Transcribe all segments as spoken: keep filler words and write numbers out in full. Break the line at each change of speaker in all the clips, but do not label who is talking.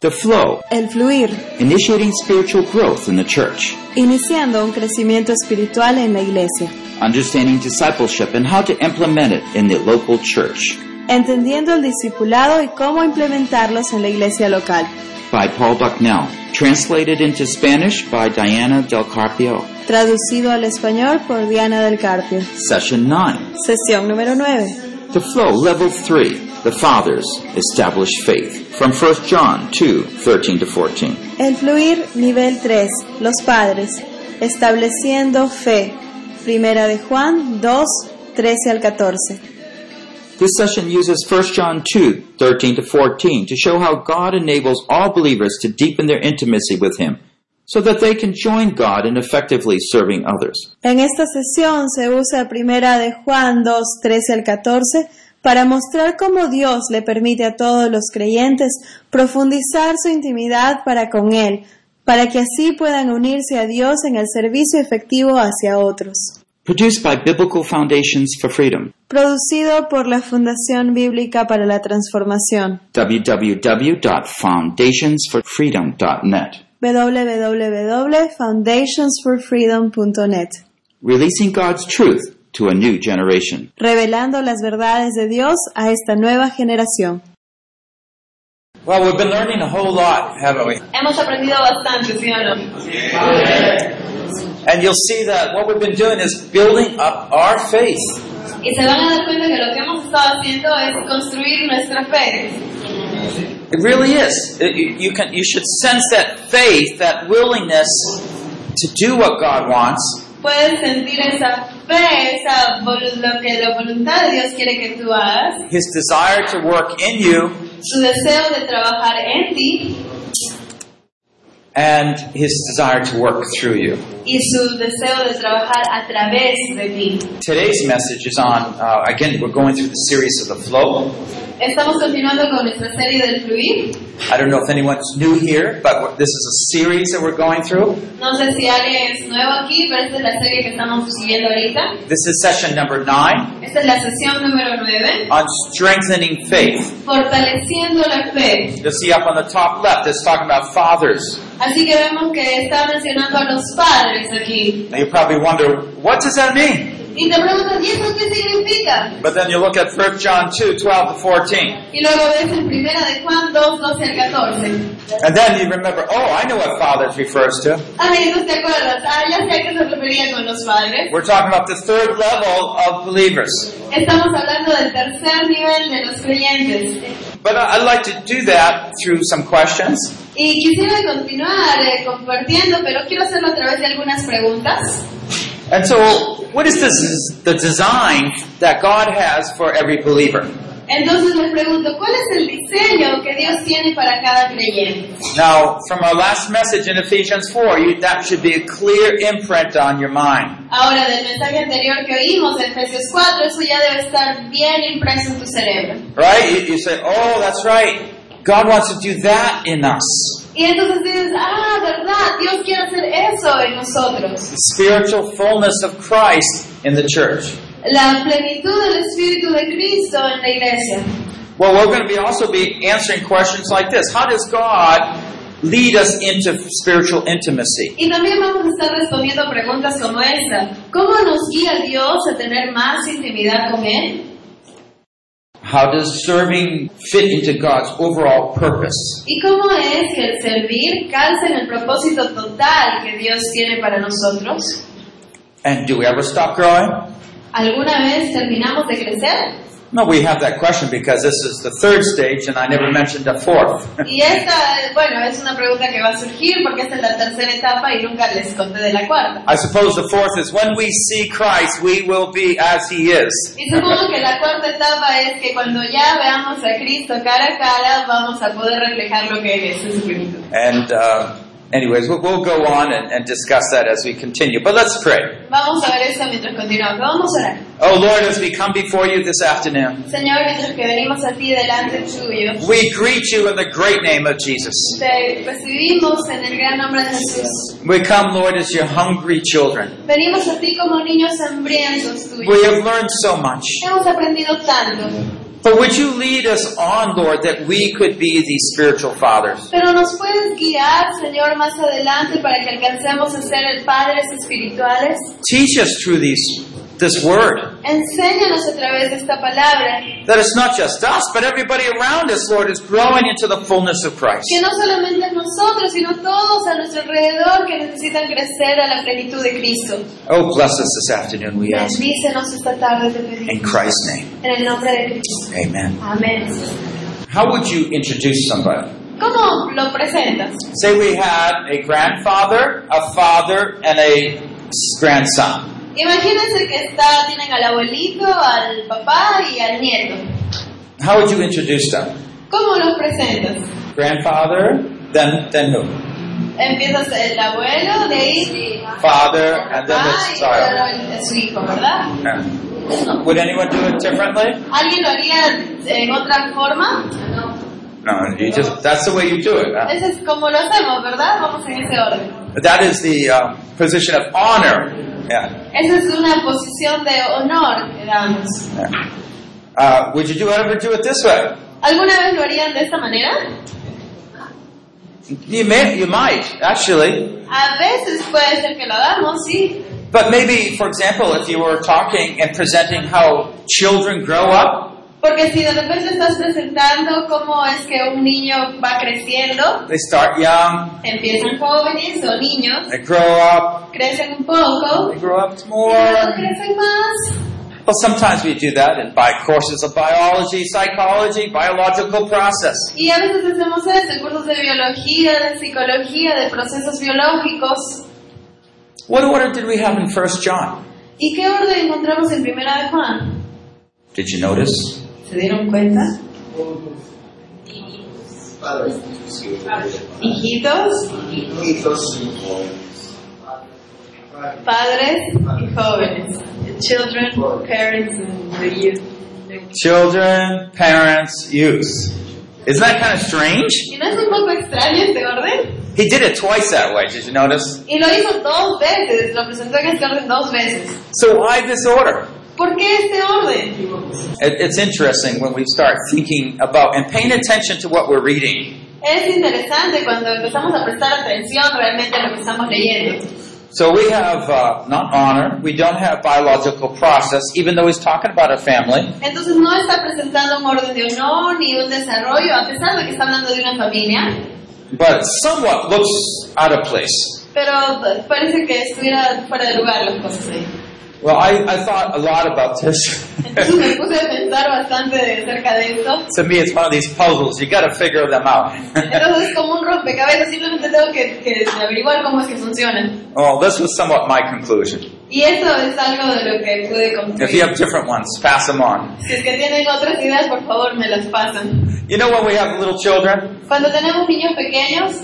The flow.
El fluir.
Initiating spiritual growth in the church.
Iniciando un crecimiento espiritual en la iglesia.
Understanding discipleship and how to implement it in the local church.
Entendiendo el discipulado y cómo implementarlos en la iglesia local.
By Paul Bucknell. Translated into Spanish by Diana Del Carpio.
Traducido al español por Diana Del Carpio.
Session nine.
Sesión número nueve.
The flow, level three. The fathers established faith. From First John two, thirteen to fourteen.
El fluir, nivel tres. Los padres, estableciendo fe. Primera de Juan dos, trece al catorce.
This session uses First John two, thirteen to fourteen to show how God enables all believers to deepen their intimacy with Him, so that they can join God in effectively serving others.
En esta sesión se usa Primera de Juan dos, trece al catorce para mostrar cómo Dios le permite a todos los creyentes profundizar su intimidad para con Él, para que así puedan unirse a Dios en el servicio efectivo hacia otros.
Produced by Biblical Foundations for Freedom.
Producido por la Fundación Bíblica para la Transformación.
w w w dot foundations for freedom dot net.
w w w dot foundations for freedom dot net.
Releasing God's truth to a new generation.
Revelando las verdades de Dios a esta nueva generación.
Well, we've been learning a whole lot, haven't we?
Hemos aprendido bastante, ¿sí o no?
Yeah. And you'll see that what we've been doing is building up our faith.
Y se van a dar cuenta que lo que hemos estado haciendo es construir nuestra fe.
It really is. It, you, you can, you should sense that faith, that willingness to do what God wants.
Puedes sentir esa fe, esa volu- lo que la voluntad de Dios quiere que tú hagas.
His desire to work in you.
Su deseo de trabajar en ti.
And His desire to work through you.
Y su deseo de trabajar a través de ti.
Today's message is on, uh, again, we're going through the series of the flow.
Estamos continuando con nuestra serie del fluir.
I don't know if anyone's new here, but this is a series that we're going through.
No sé si alguien es nuevo aquí, pero esta es la serie que estamos siguiendo ahorita.
This is session number nine.
Esta es la sesión número nueve.
On strengthening faith.
Fortaleciendo la fe.
You'll see up on the top left, it's talking about fathers.
Así que vemos que está mencionando a los padres aquí.
Now you probably wonder, what does that mean?
Y te preguntas, ¿y eso qué significa?
But then you look at First John two, twelve to fourteen.
Y luego ves en Primera de Juan dos, doce al catorce.
And then you remember, oh, I know what fathers refers to.
Ah, y entonces te acuerdas, ah, ya sé a qué se refería con los padres.
We're talking about the third level of believers.
Estamos hablando del tercer nivel de los creyentes.
But I'd like to do that through some questions.
Y quisiera continuar eh, compartiendo, pero quiero hacerlo a través de algunas preguntas.
And so, what is this, the design that God has for every believer?
Entonces les pregunto, ¿cuál es el diseño que Dios tiene para cada creyente?
Now, from our last message in Ephesians four, you, that should be a clear imprint on your mind.
Ahora, del mensaje anterior que oímos, en Efesios cuatro, eso ya debe estar bien impreso en tu cerebro.
Right? You, you say, oh, that's right. God wants to do that in us.
Y entonces dices, ah, verdad, Dios quiere hacer eso en nosotros.
The spiritual fullness of Christ in the church.
La plenitud del Espíritu de Cristo en la iglesia.
Well, we're going to be also be answering questions like this. How does God lead us into spiritual intimacy?
Y también vamos a estar respondiendo preguntas como esta. ¿Cómo nos guía Dios a tener más intimidad con Él?
How does serving fit into God's overall purpose?
¿Y cómo es que el servir calza en el propósito total que Dios tiene para nosotros?
And do we ever stop growing?
¿Alguna vez terminamos de crecer?
No, we have that question because this is the third stage and I never mentioned the fourth.
Y esta, bueno, es una pregunta que va a surgir porque esta es la tercera etapa y nunca les conté de la cuarta.
I suppose the fourth is when we see Christ, we will be as He is.
Y supongo que la cuarta etapa es que cuando ya veamos a Cristo cara a cara, vamos a poder reflejar lo que Él es en su plenitud.
And uh, anyways, we'll, we'll go on and, and discuss that as we continue. But let's pray.
Vamos a ver esto mientras continuamos. Vamos a orar.
Oh Lord, as we come before you this afternoon,
Señor, mientras que venimos a ti delante tuyo,
we greet you in the great name of Jesus.
te recibimos en el gran nombre de Jesús.
We come, Lord, as your hungry children.
Venimos a ti como niños hambrientos tuyos.
We have learned so much.
Hemos aprendido tanto.
But would you lead us on, Lord, that we could be these spiritual fathers?
Pero nos puedes guiar, Señor, más adelante para que alcancemos a ser padres espirituales.
Teach us through these, this word.
Enséñanos a través de esta palabra
That it's not just us, but everybody around us, Lord, is growing into the fullness of Christ.
que no solamente nosotros, sino todos a nuestro alrededor que necesitan crecer a la plenitud de Cristo.
Oh, bless us this afternoon, we ask.
Bendícenos esta tarde, te
In
pedimos.
Christ's name.
En el nombre de Cristo.
Amen.
Amén.
How would you introduce somebody?
¿Cómo lo presentas?
Say we had a grandfather, a father, and a grandson.
Imagínense que está, tienen al abuelito, al papá y al nieto.
How would you introduce them?
¿Cómo los presentas?
Grandfather, then then who?
Empiezas el abuelo, de ahí
Father,
el
and then
papá
the
y
child.
luego el- su hijo, ¿verdad?
Yeah. Would anyone do it differently?
¿Alguien lo haría en otra forma?
No, you just that's the way you do it. huh?
Ese es como lo hacemos, ¿verdad? Vamos en ese orden.
That is the uh, position of honor. Yeah.
Esa es una posición de honor que damos.
yeah. Uh, would you do ever do it this way?
¿Alguna vez lo harían de esta manera?
You may, you might actually,
A veces puede ser que lo hagamos, sí.
but maybe, for example, if you were talking and presenting how children grow up.
Porque si de repente estás presentando cómo es que un niño va creciendo,
They start young,
empiezan jóvenes o niños,
they grow up,
crecen un poco,
they grow up
y
more.
luego crecen más.
Well, sometimes we do that and buy courses of biology, psychology, biological process.
Y a veces hacemos eso, cursos de biología, de psicología, de procesos biológicos.
What order did we have in First John?
¿Y qué orden encontramos en Primera de Juan?
Did you notice?
¿Se dieron cuenta? Hijitos, padres y jóvenes. The children, parents, and the youth.
Children, parents, youth. Isn't that kind of strange?
¿Y no es un poco extraño este orden?
He did it twice that way. Did you notice?
Y lo hizo dos veces, lo presentó en este orden dos veces.
So why this order?
¿Por qué este orden?
It, it's interesting when we start thinking about and paying attention to what we're reading.
Es interesante cuando empezamos a prestar atención realmente a lo que estamos leyendo.
So we have uh, not honor, we don't have biological process, even though he's talking about a family.
Entonces no está presentando un orden de honor ni un desarrollo, a pesar de que está hablando de una familia,
But it somewhat looks out of place.
pero parece que estuviera fuera de lugar las cosas ahí.
Well, I, I thought a lot about this.
Entonces me puse a pensar bastante de cerca de esto.
To me, it's one of these puzzles. You got to figure them out.
Entonces es como un rompecabezas, simplemente tengo que, que averiguar cómo es que funcionan.
Well, this was somewhat my conclusion.
Y eso es algo de lo que pude
If you
concluir.
have different ones, pass them on.
Si es que tienen otras ideas, por favor me las pasan.
You know when we have little children,
Cuando tenemos niños pequeños,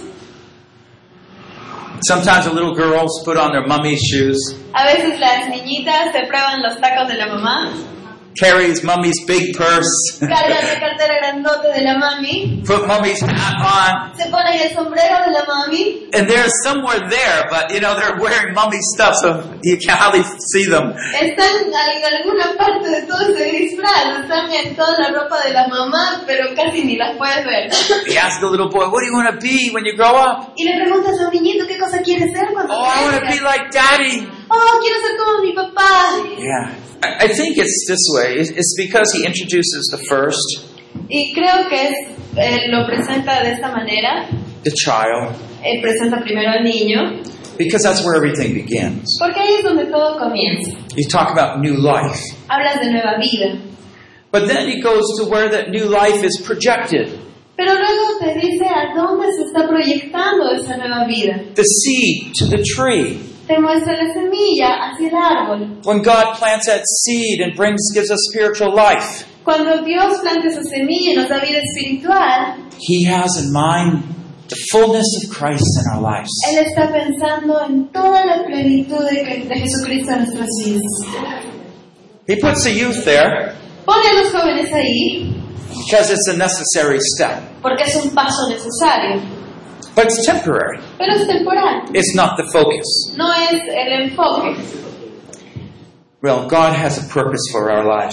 sometimes the little girls put on their mummy's shoes,
a veces las niñitas se prueban los tacos de la mamá,
carries mummy's big purse,
cargan la cartera grandote de la mami,
put mummy's hat on,
se ponen el sombrero de la mami,
and they're somewhere there, but you know, they're wearing mummy's stuff, so you can hardly see them.
están en alguna parte de todo ese disfraz, están en toda la ropa de la mamá, pero casi ni las puedes ver.
He asked the little boy, what do you want to be when you grow up?
Y le preguntas a un niñito qué cosa quiere ser cuando
Oh, I want to be
crezca.
like daddy.
Oh, quiero ser como mi papá.
Yeah. I I think it's this way. It's it's because he introduces the first,
Y creo que es, eh, lo presenta de esta manera.
the child,
Eh, presenta primero al niño,
because that's where everything begins.
porque ahí es donde todo comienza.
You talk about new life.
Hablas de nueva vida.
But then he goes to where that new life is projected.
Pero luego te dice a dónde se está proyectando esa nueva vida.
The seed to the tree.
Te muestra la semilla hacia el árbol.
When God plants that seed and brings, gives us spiritual life,
Cuando Dios planta esa semilla y nos da vida espiritual,
he has in mind the fullness of Christ in our lives.
Él está pensando en toda la plenitud de, de Jesucristo en nuestras vidas.
He puts the youth there
Pone a los jóvenes ahí
because it's a necessary step.
porque es un paso necesario,
But it's temporary.
pero es temporal,
It's not the focus.
no es el enfoque.
Well, God has a purpose for our lives.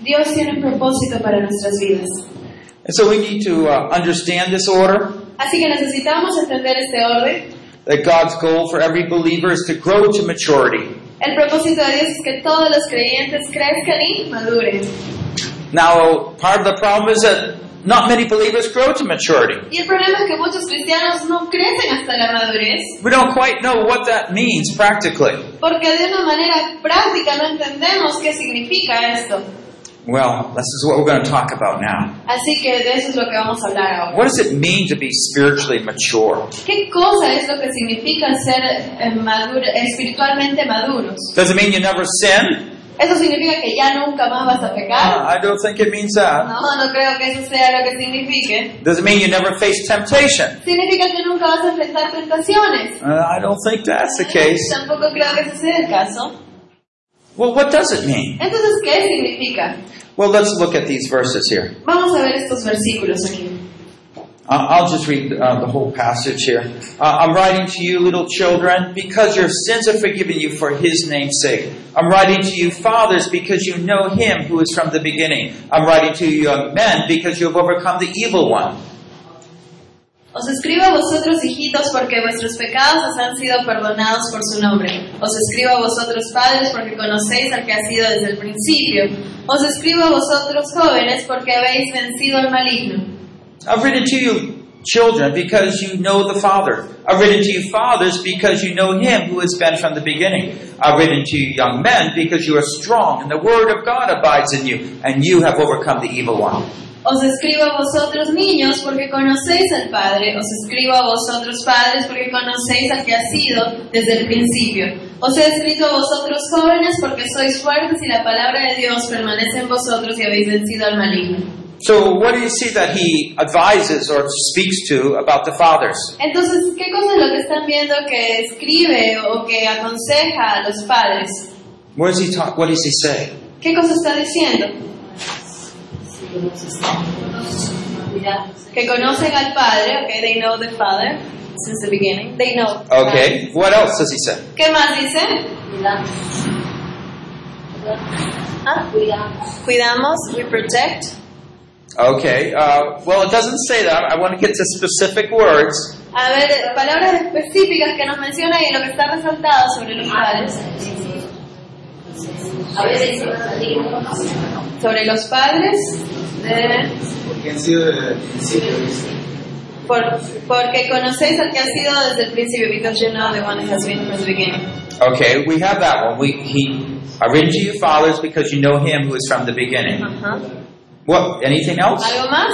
Dios tiene un propósito para nuestras vidas.
And so we need to uh, understand this order,
Así que necesitamos entender este orden.
that God's goal for every believer is to grow to maturity.
El propósito de Dios es que todos los creyentes crezcan y maduren.
Now, part of the problem is that not many believers grow to maturity.
Y el problema es que muchos cristianos no crecen hasta la madurez
We don't quite know what that means practically.
porque de una manera práctica no entendemos qué significa esto.
Well, this is what we're going to talk about now.
Así que de eso es lo que vamos a hablar ahora.
What does it mean to be spiritually mature?
¿Qué cosa es lo que significa ser eh, maduro- espiritualmente maduros?
Does it mean you never sin?
¿Eso significa que ya nunca más vas a
Uh,
pecar?
I don't think it means that.
No, no creo que eso sea lo que signifique.
Does it mean you never face temptation?
¿Significa que nunca vas a enfrentar tentaciones?
Uh, I don't think that's the case.
Tampoco creo que ese sea el caso.
Well, what does it mean?
Entonces, ¿qué significa?
Well, let's look at these verses here.
Vamos a ver estos versículos aquí.
Uh, I'll just read uh, the whole passage here. Uh, I'm writing to you, little children, because your sins are forgiven you for His name's sake. I'm writing to you, fathers, because you know Him who is from the beginning. I'm writing to you, young men, because you have overcome the evil one.
Os escribo a vosotros, hijitos, porque vuestros pecados os han sido perdonados por su nombre. Os escribo a vosotros, padres, porque conocéis al que ha sido desde el principio. Os escribo a vosotros, jóvenes, porque habéis vencido al maligno.
I've written to you, children, because you know the Father. I've written to you, fathers, because you know Him who has been from the beginning. I've written to you, young men, because you are strong, and the Word of God abides in you, and you have overcome the evil one.
Os escribo a vosotros, niños, porque conocéis al Padre. Os escribo a vosotros, padres, porque conocéis al que ha sido desde el principio. Os he escrito a vosotros, jóvenes, porque sois fuertes y la palabra de Dios permanece en vosotros y habéis vencido al maligno.
So what do you see that he advises or speaks to about the fathers?
Entonces, ¿qué cosa es lo que están viendo que escribe o que aconseja a los padres?
What does he talk? What does he say?
¿Qué cosa está diciendo? Que conocen al Padre, okay, they know the Father since the beginning. They know.
Okay. What else does he say?
¿Qué más dice? ¿Ah? Cuidamos, we protect.
Okay. Uh, well, it doesn't say that. I want to get to specific words.
A ver, palabras específicas que nos menciona y lo que está resaltado sobre los padres. Sobre los padres, de,
Porque han sido desde el principio.
por, porque conocéis al que ha sido desde el principio, because you know the one that has been from the beginning.
Okay, we have that one. We he. I've written to you, fathers, because you know Him who is from the beginning.
Ajá.
What? Anything else?
¿Algo más?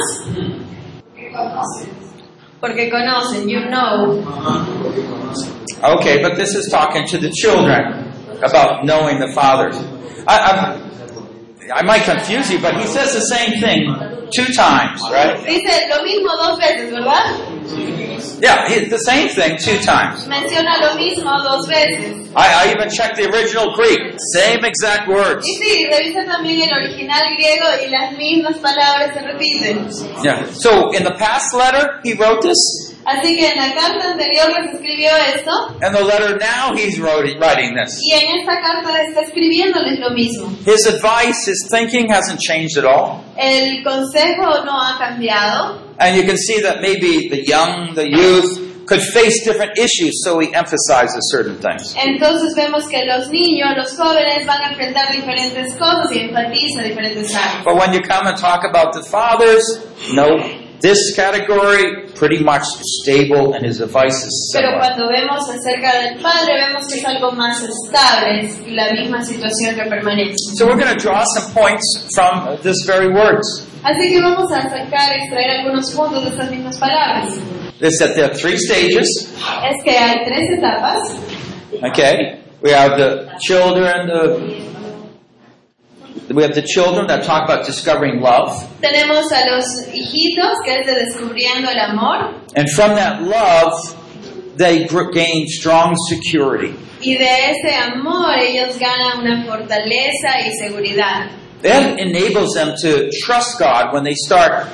Porque conocen, you know.
Porque conocen.
Okay, but this is talking to the children about knowing the fathers. I, I'm, I might confuse you, but he says the same thing two times, right?
Dice lo mismo dos veces, ¿verdad?
Yeah, he, the same thing two times.
Menciona lo mismo dos veces.
I, I even checked the original Greek. Same exact words.
Y sí, revisa también el original griego y las mismas palabras se repiten.
Yeah. So in the past letter, he wrote this.
Así que en la carta anterior les escribió esto,
And the letter now, he's wrote, writing this.
y en esta carta está escribiéndoles lo mismo.
His advice, his thinking hasn't changed at all.
El consejo no ha cambiado,
And you can see that maybe the young, the youth, could face different issues, so he emphasizes certain things.
entonces vemos que los niños, los jóvenes van a enfrentar diferentes cosas y enfatiza diferentes áreas.
But when you come and talk about the fathers, no, this category pretty much stable, and his advice is
Pero
similar.
cuando vemos acerca del Padre, vemos que es algo más estable y la misma situación que permanece.
So we're going to draw some points from this very words.
Así que vamos a sacar, extraer algunos puntos de estas mismas palabras.
It's that there are three stages.
Es que hay tres etapas.
Okay, we have the children. The, we have the children that talk about discovering love,
Tenemos a los hijitos, que es de descubriendo el amor,
and from that love, they gr- gain strong security.
y de ese amor ellos ganan una fortaleza y seguridad.
That enables them to trust God when they start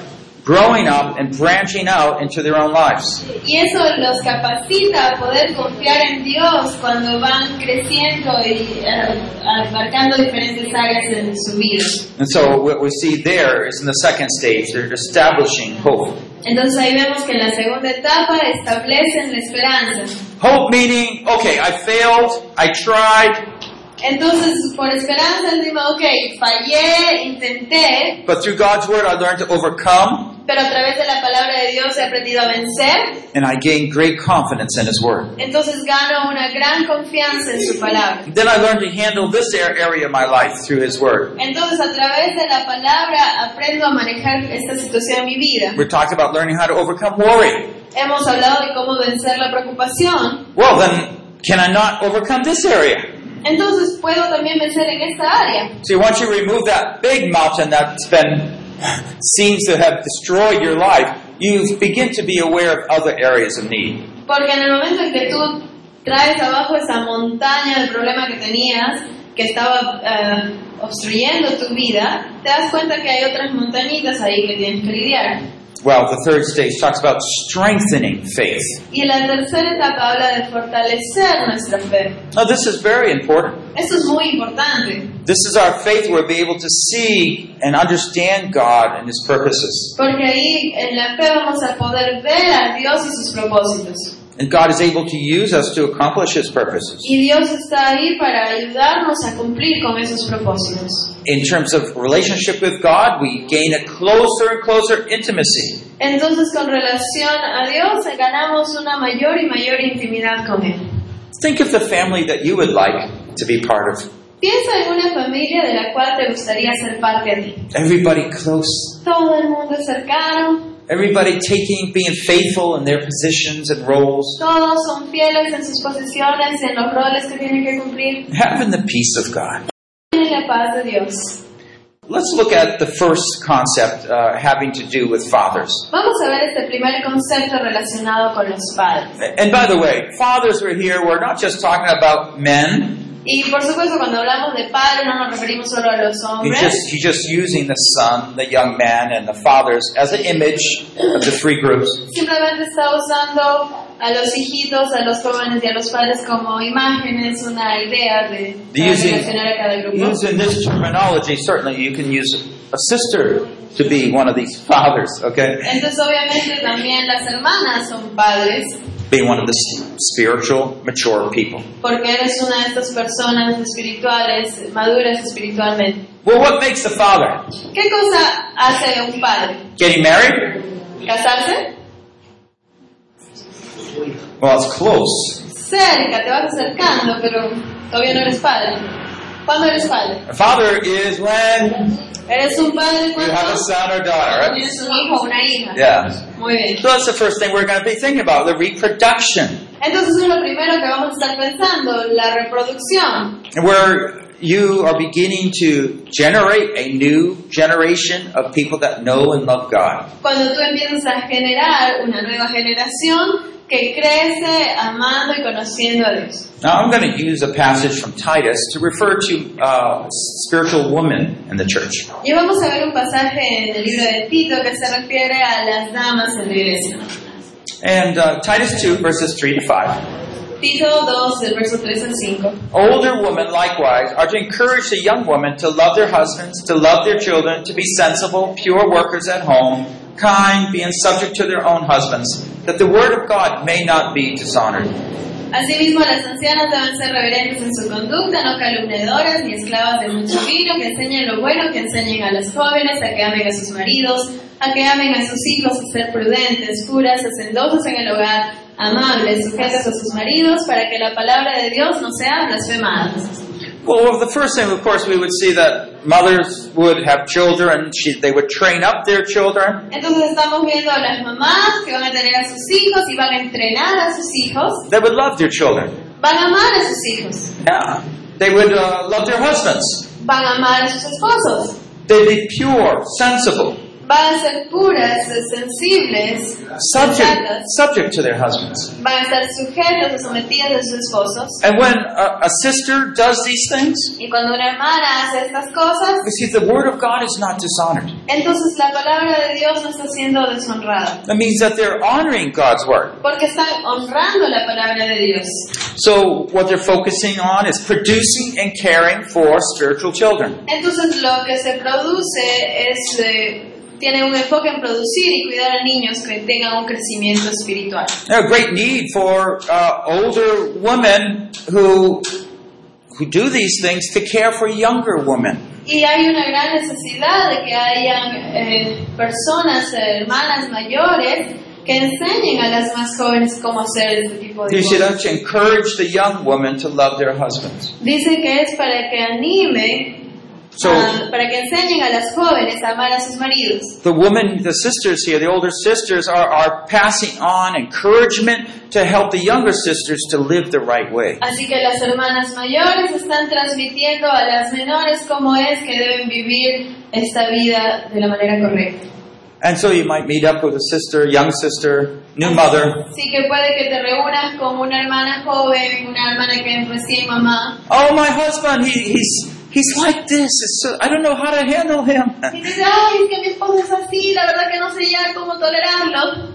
growing up and branching out into their own lives.
Y eso los capacita a poder confiar en Dios cuando van creciendo y eh, abarcando diferentes áreas en su vida.
And so what we see there is in the second stage, they're establishing hope.
Entonces ahí vemos que en la segunda etapa establecen la esperanza.
Hope meaning, okay, I failed, I tried,
Entonces, por esperanza decimos, ok, fallé, intenté,
but through God's word I learned to overcome,
pero a través de la palabra de Dios he aprendido a vencer.
and I gained great confidence in His word.
Entonces gano una gran confianza en su palabra.
Then I learned to handle this area of my life through His word.
Entonces a través de la palabra aprendo a manejar esta situación en mi vida.
We talked about learning how to overcome worry.
Hemos hablado de cómo vencer la preocupación.
Well, then, can I not overcome this area?
Entonces puedo también vencer en esta área.
See, once you remove that big mountain that's been, seems to have destroyed your life, you begin to be aware of other areas of need.
Porque en el momento en que tú traes abajo esa montaña del problema que tenías, que estaba uh, obstruyendo tu vida, te das cuenta que hay otras montañitas ahí que tienes que lidiar.
Well, the third stage talks about strengthening faith.
Y la tercera etapa habla de fortalecer nuestra fe.
Now, this is very important.
Esto es muy importante.
This is our faith where we'll be able to see and understand God and His purposes.
Porque ahí en la fe vamos a poder ver a Dios y sus propósitos.
And God is able to use us to accomplish His purposes.
Y Dios está ahí para ayudarnos a cumplir con esos propósitos.
In terms of relationship with God, we gain a closer and closer intimacy.
Entonces, con relación a Dios, ganamos una mayor y mayor intimidad con Él.
Think of the family that you would like to be part of.
Piensa en una familia de la cual te gustaría ser parte a ti.
Everybody close.
Todo el mundo es cercano.
Everybody taking, being faithful in their positions and roles.
Todos son fieles en sus posiciones, en los roles que tienen que cumplir.
Having the peace of God.
En la paz de Dios.
Let's look at the first concept uh, having to do with fathers.
Vamos a ver este primer concepto relacionado con los padres.
And by the way, fathers are here. We're not just talking about men.
Y por supuesto, cuando hablamos de padres no nos referimos solo a los
He's
hombres.
just, he's just using the son, the young man, and the fathers as an image of the three groups.
Simplemente está usando a los hijitos, a los jóvenes y a los padres como imágenes, una idea de para
Using,
relacionar a cada grupo.
using this terminology, certainly you can use a sister to be one of these fathers, okay?
Entonces, obviamente, también las hermanas son padres,
Being one of the spiritual, mature people.
porque eres una de estas personas espirituales, maduras espiritualmente.
Well, what makes a father?
¿Qué cosa hace un padre?
Getting married?
¿Casarse?
Well, it's close.
Cerca, te vas acercando, pero todavía no eres padre. ¿Cuándo eres padre?
A father is when
Eres un padre
you
cuando
have a son or daughter, right?
tienes un hijo o una hija.
Yeah.
Muy bien.
So that's the first thing we're going to be thinking about, the reproduction.
Entonces es lo primero que vamos a estar pensando, la reproducción.
Where you are beginning to generate a new generation of people that know and love God.
Cuando tú empiezas a generar una nueva generación que crece amando y conociendo a Dios.
Now I'm going to use a passage from Titus to refer to uh, spiritual women in the church.
Y vamos a ver un pasaje en el libro de Tito que se refiere a las damas en la iglesia.
And uh, Titus two, verses three to five.
Tito dos, del verso tres al cinco.
Older women likewise are to encourage the young women to love their husbands, to love their children, to be sensible, pure workers at home, kind, being subject to their own husbands, that the word of God may not be dishonored.
Asimismo, las ancianas deben ser reverentes en su conducta, no calumniadoras ni esclavas de mucho vino, que enseñen lo bueno, que enseñen a las jóvenes a que amen a sus maridos, a que amen a sus hijos, a ser prudentes, puras, hacendosas en el hogar, amables, sujetas a sus maridos, para que la palabra de Dios no sea blasfemada.
Well, the first thing, of course, we would see that mothers would have children, and she, they would train up their children.
Entonces estamos viendo a las mamás que van a tener a sus hijos y van a entrenar a sus hijos,
They would love their children.
van a amar a sus hijos,
Yeah. They would uh, love their husbands.
van a amar a sus esposos,
They'd be pure, sensible.
van a ser puras, sensibles,
subject,
sensatas,
subject to their husbands.
van a estar sujetas o sometidas a sus esposos.
And when a, a sister does these things,
Y cuando una hermana hace estas cosas,
you see, the word of God is not dishonored.
entonces la palabra de Dios no está siendo deshonrada,
That means that they're honoring God's word.
porque están honrando la palabra de Dios.
So what they're focusing on is producing and caring for spiritual children.
Entonces lo que se produce es, eh, tiene un enfoque en producir y cuidar a niños que tengan un crecimiento espiritual.
There's a great need for uh, older women who who do these things to care for younger women.
Y hay una gran necesidad de que hayan eh, personas, eh, hermanas mayores, que enseñen a las más jóvenes cómo hacer este tipo de
You should
cosas.
actually encourage the young women to love their husbands.
Dice que es para que anime,
So
a- para que enseñen a las jóvenes a amar a sus maridos.
the women, the sisters here, the older sisters, are, are passing on encouragement to help the younger sisters to live the right way.
Así que las hermanas mayores están transmitiendo a las menores cómo es que deben vivir esta vida de la manera correcta.
And so you might meet up with a sister, young sister, new mother.
Así que puede que te reúnas con una hermana joven, una hermana que es recién mamá.
Oh, my husband, he, he's he's like this. It's so, I don't know how to handle him.
Y dice, ay, es que mi esposo es así, la verdad que no sé ya cómo tolerarlo.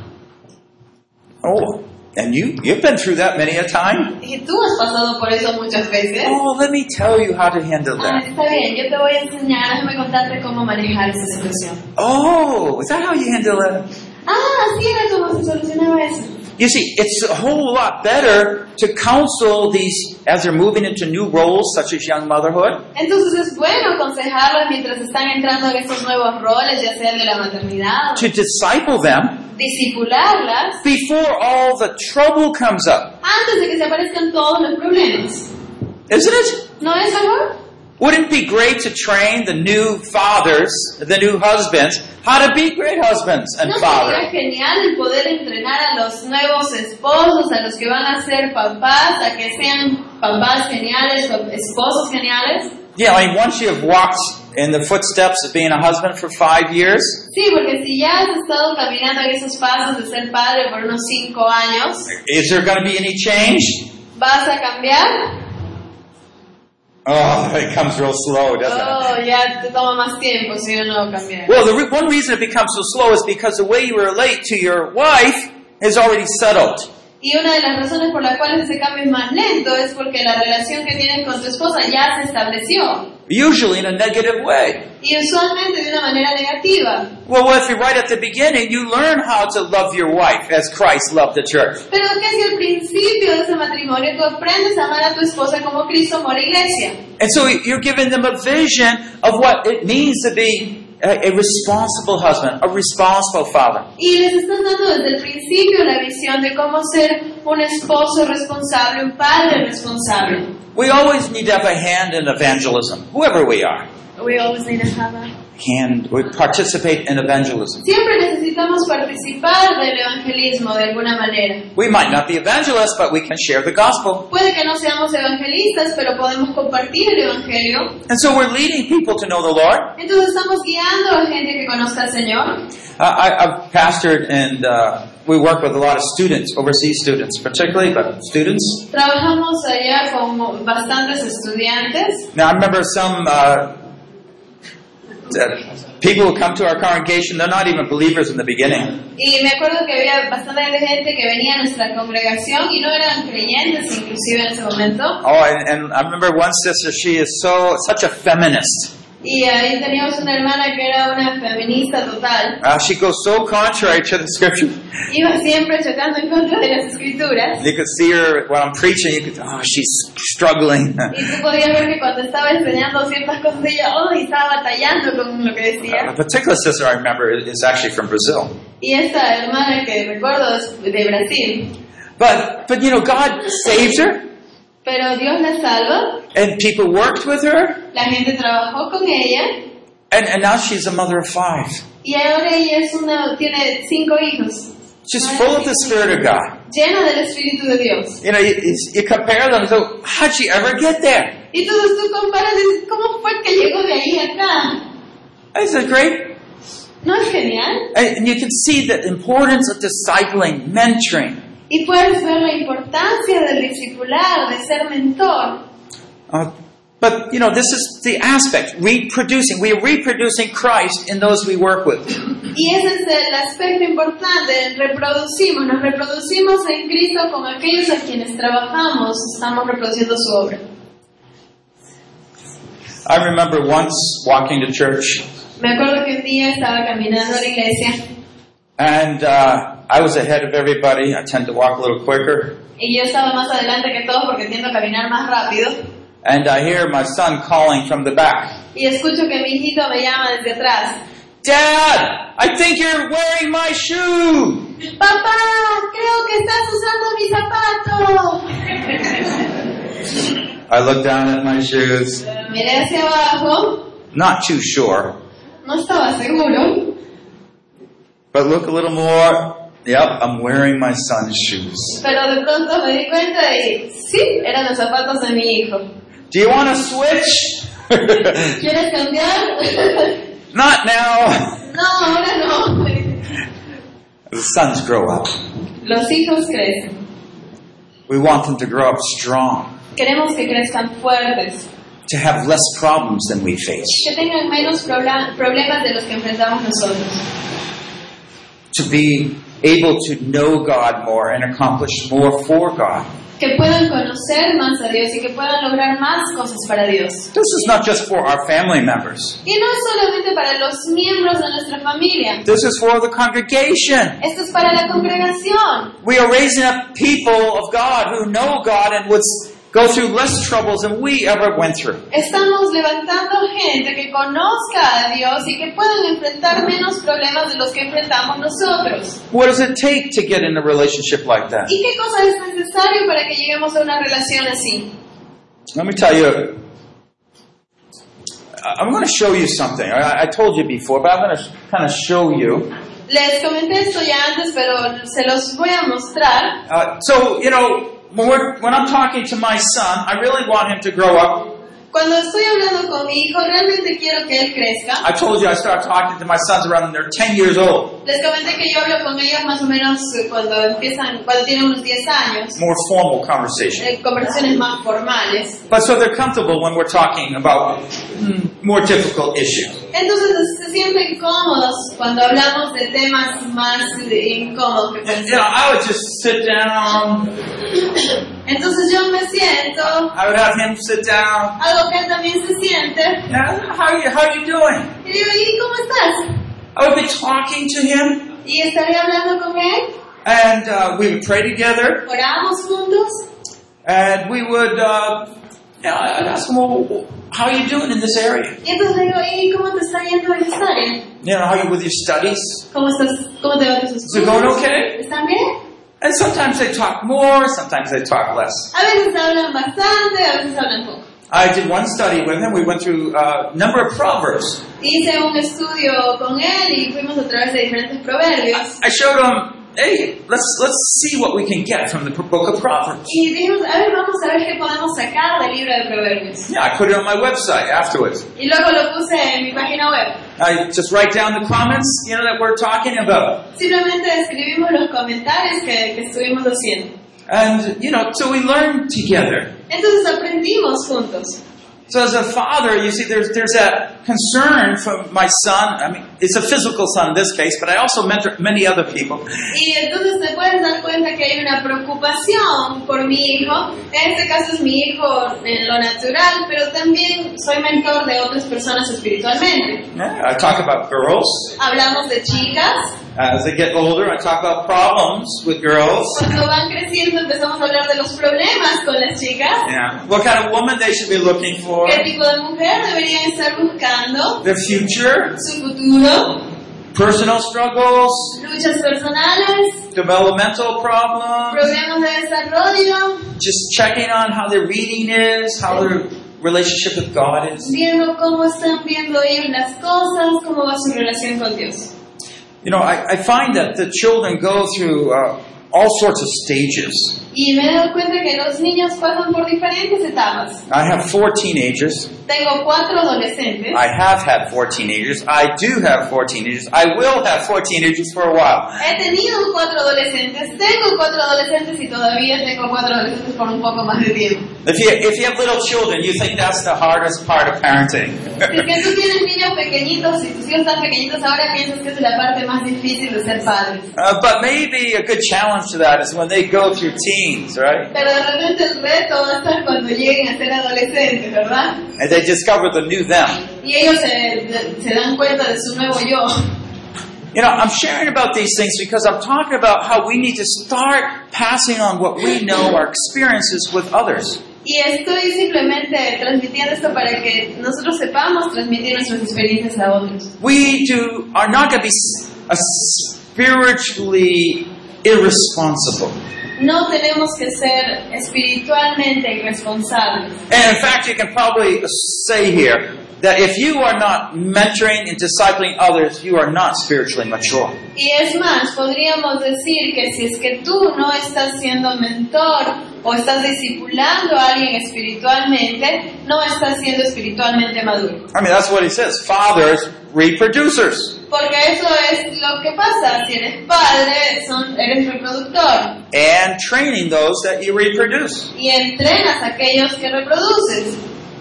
Oh, and you you've been through that many a time.
Y tú has pasado por eso muchas veces.
Oh, let me tell you how to handle
Ah,
that.
está bien, yo te voy a enseñar, déjame contarte cómo manejar esa situación.
Oh, is that how you handle it?
Ah, así era como se solucionaba eso.
You see, it's a whole lot better to counsel these as they're moving into new roles such as young motherhood.
Entonces es bueno aconsejarlas mientras están entrando en estos nuevos roles, ya sea el de la maternidad,
To disciple them
disipularlas,
before all the trouble comes up.
antes de que se aparezcan todos los problemas.
Isn't it?
¿No es mejor?
Wouldn't it be great to train the new fathers, the new husbands, how to be great husbands and
¿No sería
fathers?
genial el poder entrenar a los nuevos esposos, a los que van a ser papás, a que sean papás geniales o esposos geniales?
Yeah, I mean, once you have walked in the footsteps of being a husband for five years,
Sí, porque si ya has estado caminando en esos pasos de ser padre por unos cinco años,
is there going to be any change?
¿vas a cambiar?
Oh, it comes real slow, doesn't it?
Oh, ya te toma más tiempo si uno cambiar.
Well, the re- one reason it becomes so slow is because the way you relate to your wife is already settled.
Y una de las razones por las cuales ese cambio es más lento es porque la relación que tienes con tu esposa ya se estableció.
Usually in a negative way.
Y usualmente de una manera negativa.
Well, if you're right at the beginning, you learn how to love your wife as Christ loved the church.
Pero que si al principio de ese matrimonio tú aprendes a amar a tu esposa como Cristo amó a la iglesia.
And so you're giving them a vision of what it means to be a, a responsible husband, a responsible father.
Y les estás dando desde el principio la visión de cómo ser un esposo responsable, un padre responsable.
We always need to have a hand in evangelism, whoever we are.
We always need to have a...
Hand, we participate in evangelism.
Siempre necesitamos participar del evangelismo de alguna manera.
We might not be evangelists, but we can share the gospel.
Puede que no seamos evangelistas, pero podemos compartir el evangelio.
And so we're leading people to know the Lord.
Entonces estamos guiando a gente que conozca al Señor.
Uh, I, I've pastored and uh, we work with a lot of students, overseas students particularly, but students.
Trabajamos allá con bastantes estudiantes.
Now I remember some uh, uh, people who come to our congregation, they're not even believers in the beginning.
Y me acuerdo que había bastante gente que venía a nuestra congregación y no eran creyentes inclusive en ese momento.
Oh, and, and I remember one sister, she is so such a feminist.
Y ahí teníamos una hermana que era una feminista total.
Uh, she goes so contrary to the scripture.
Iba siempre chocando en contra de las escrituras.
You could see her when I'm preaching, you could, oh, she's struggling.
Y tú podías ver que cuando estaba enseñando ciertas cosas, ella oh, y estaba batallando con lo que
A
decía.
particular sister I remember is actually from Brazil.
Y esta hermana que recuerdo es de Brasil.
But, but you know, God saved her,
Pero Dios la salva,
and people worked with her,
la gente trabajó con ella,
and, and now she's a mother of five.
y ahora ella es una, tiene cinco hijos.
She's full of the Spirit of God.
Llena del Espíritu de Dios.
You know, you, you compare them, so how'd she ever get there?
Y entonces tú comparas y dices, ¿cómo fue que llegó de ahí a acá?
Isn't it great?
¿No es genial?
And and you can see the importance of discipling, mentoring.
Y puedes ver la importancia del discipular, de ser mentor.
Uh, but, you know, this is the aspect, reproducing. We are reproducing Christ in those we work with.
Y ese es el aspecto importante, reproducimos, nos reproducimos en Cristo con aquellos a quienes trabajamos, estamos reproduciendo su obra.
I remember once walking to church,
Me acuerdo que un día estaba caminando a la iglesia
and uh, I was ahead of everybody. I tend to walk a little quicker.
y yo estaba más adelante que todos porque tiendo a caminar más rápido.
And I hear my son calling from the back.
Y escucho que mi hijito me llama desde atrás.
Dad, I think you're wearing my shoe.
¡Papá! ¡Creo que estás usando mi zapato!
I looked down at my shoes,
Miré hacia abajo,
not too sure,
no estaba seguro,
but look a little more. Yep, I'm wearing my son's shoes.
pero de pronto me di cuenta y sí, eran los zapatos de mi hijo.
Do you want to switch?
¿Quieres cambiar?
Not now.
No, ahora no.
The sons grow up.
Los hijos crecen.
We want them to grow up strong,
Queremos que crezcan fuertes,
to have less problems than we face,
que tengan menos prola- problemas de los que enfrentamos nosotros,
to be able to know God more and accomplish more for God.
que puedan conocer más a Dios y que puedan lograr más cosas para Dios.
This is not just for our family members.
Y no es solamente para los miembros de nuestra familia.
This is for the congregation.
Esto es para la congregación.
We are raising up people of God who know God and would go through less troubles than we ever went through.
Estamos levantando gente que conozca a Dios y que puedan enfrentar menos problemas de los que enfrentamos nosotros.
What does it take to get in a relationship like that?
¿Y qué cosa es necesario para que lleguemos a una relación así?
Let me tell you, I'm going to show you something. I, I told you before, but I'm going to kind of show you.
Les comenté esto ya antes, pero se los voy a mostrar.
Uh, so, you know, when, we're, when I'm talking to my son, I really want him to grow up.
Cuando estoy hablando con mi hijo, realmente quiero que él crezca.
I told you I start talking to my sons around when they're ten years old.
Les comenté que yo hablo con ellos más o menos cuando empiezan, cuando tienen unos diez años.
More formal conversation.
Eh, conversaciones más formales.
But so they're comfortable when we're talking about mm, more difficult issues.
Entonces se sienten cómodos cuando hablamos de temas más incómodos que
And, you know, I would just sit down.
Entonces yo me siento,
I would have him sit down.
hago que él también se siente.
Yeah, how are you, how are you doing?
Y digo, ¿y cómo estás?
I would be talking to him,
Y estaré hablando con él.
and uh, we would pray together,
Oramos juntos.
and we would, uh, you know, I'd ask him, well, how are you doing in this area?
Y entonces le digo, ¿y cómo te está yendo en esta área?
You know, how are you with your studies?
¿Cómo estás? ¿Cómo te va tus
Is it going
estudios?
okay?
¿Están bien?
And sometimes they talk more, sometimes they talk less.
A veces hablan bastante, a veces hablan poco.
I did one study with him. We went through a number of proverbs.
Hice un estudio con él y fuimos a través de diferentes proverbios.
I showed him, hey, let's let's see what we can get from the book of Proverbs.
Y dijimos, a ver, vamos a ver qué podemos sacar del libro de proverbios.
Yeah, I put it on my website afterwards.
Y luego lo puse en mi página web.
I just write down the comments, you know, that we're talking about.
Simplemente escribimos los comentarios que, que estuvimos haciendo.
And, you know, so we learn together.
Entonces aprendimos juntos.
So as a father, you see, there's there's that concern from my son. I mean, it's a physical son in this case, but I also mentor many other people.
Y entonces te puedes dar cuenta que hay una preocupación por mi hijo. En este caso es mi hijo en lo natural, pero también soy mentor de otras personas espiritualmente.
Yeah, I talk about girls.
Hablamos de chicas.
As they get older, I talk about problems with girls.
Cuando van creciendo empezamos a hablar de los problemas con las chicas.
Yeah, what kind of woman they should be looking for.
¿Qué tipo de mujer deberían estar buscando?
Their future,
Su futuro,
personal struggles,
luchas personales,
developmental problems,
problemas de desarrollo,
just checking on how their reading is, how their relationship with God is.
viendo cómo están viendo ellos las cosas, cómo va su relación con Dios.
You know, I, I find that the children go through uh, all sorts of stages.
Y me he dado cuenta que los niños pasan por diferentes etapas.
I have four teenagers.
Tengo cuatro adolescentes.
I have had four teenagers. I do have four teenagers. I will have four teenagers for a while.
He tenido cuatro adolescentes, tengo cuatro adolescentes y todavía tengo cuatro adolescentes por un poco más de tiempo.
If you if you have little children, you think that's the hardest part of parenting.
Si es que tú tienes niños pequeñitos y tus hijos están pequeñitos, ahora piensas que es la parte más difícil de ser padres.
Uh, but maybe a good challenge to that is when they go through teens, right?
Pero de repente el reto va a estar cuando lleguen a ser adolescentes, ¿verdad?
And they discover the new them.
Y ellos se, se dan cuenta de su nuevo yo.
You know, I'm sharing about these things because I'm talking about how we need to start passing on what we know, our experiences with others.
Y estoy simplemente transmitiendo esto para que nosotros sepamos transmitir nuestras experiencias a otros.
We do are not going to be a spiritually irresponsible.
No tenemos que ser espiritualmente irresponsables.
And in fact, you can probably say here that if you are not mentoring and discipling others, you are not spiritually mature.
Y es más, podríamos decir que si es que tú no estás siendo mentor o estás discipulando a alguien espiritualmente, no estás siendo espiritualmente maduro.
I mean, that's what he says. Fathers, reproducers.
Porque eso es lo que pasa. Si eres padre, son, eres reproductor.
And training those that you reproduce.
Y entrenas a aquellos que reproduces.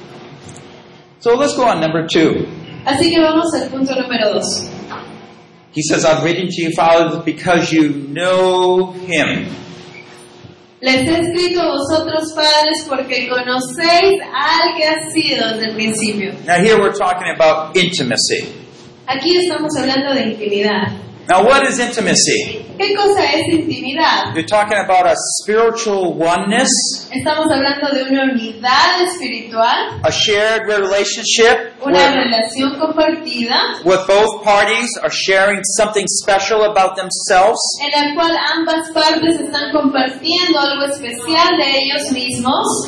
So let's go on number two.
Así que vamos al punto número dos.
He says, I'm reading to you, fathers, because you know him.
Les he escrito a vosotros, padres, porque conocéis al que ha sido desde el principio.
Now here we're talking about intimacy.
Aquí estamos hablando de intimidad.
Now what is intimacy?
¿Qué cosa es intimidad?
You're talking about a spiritual oneness,
Estamos hablando de una unidad espiritual,
a shared relationship
una
where,
relación compartida,
where both parties are sharing something special about themselves.
en la cual ambas partes están compartiendo algo especial de ellos mismos.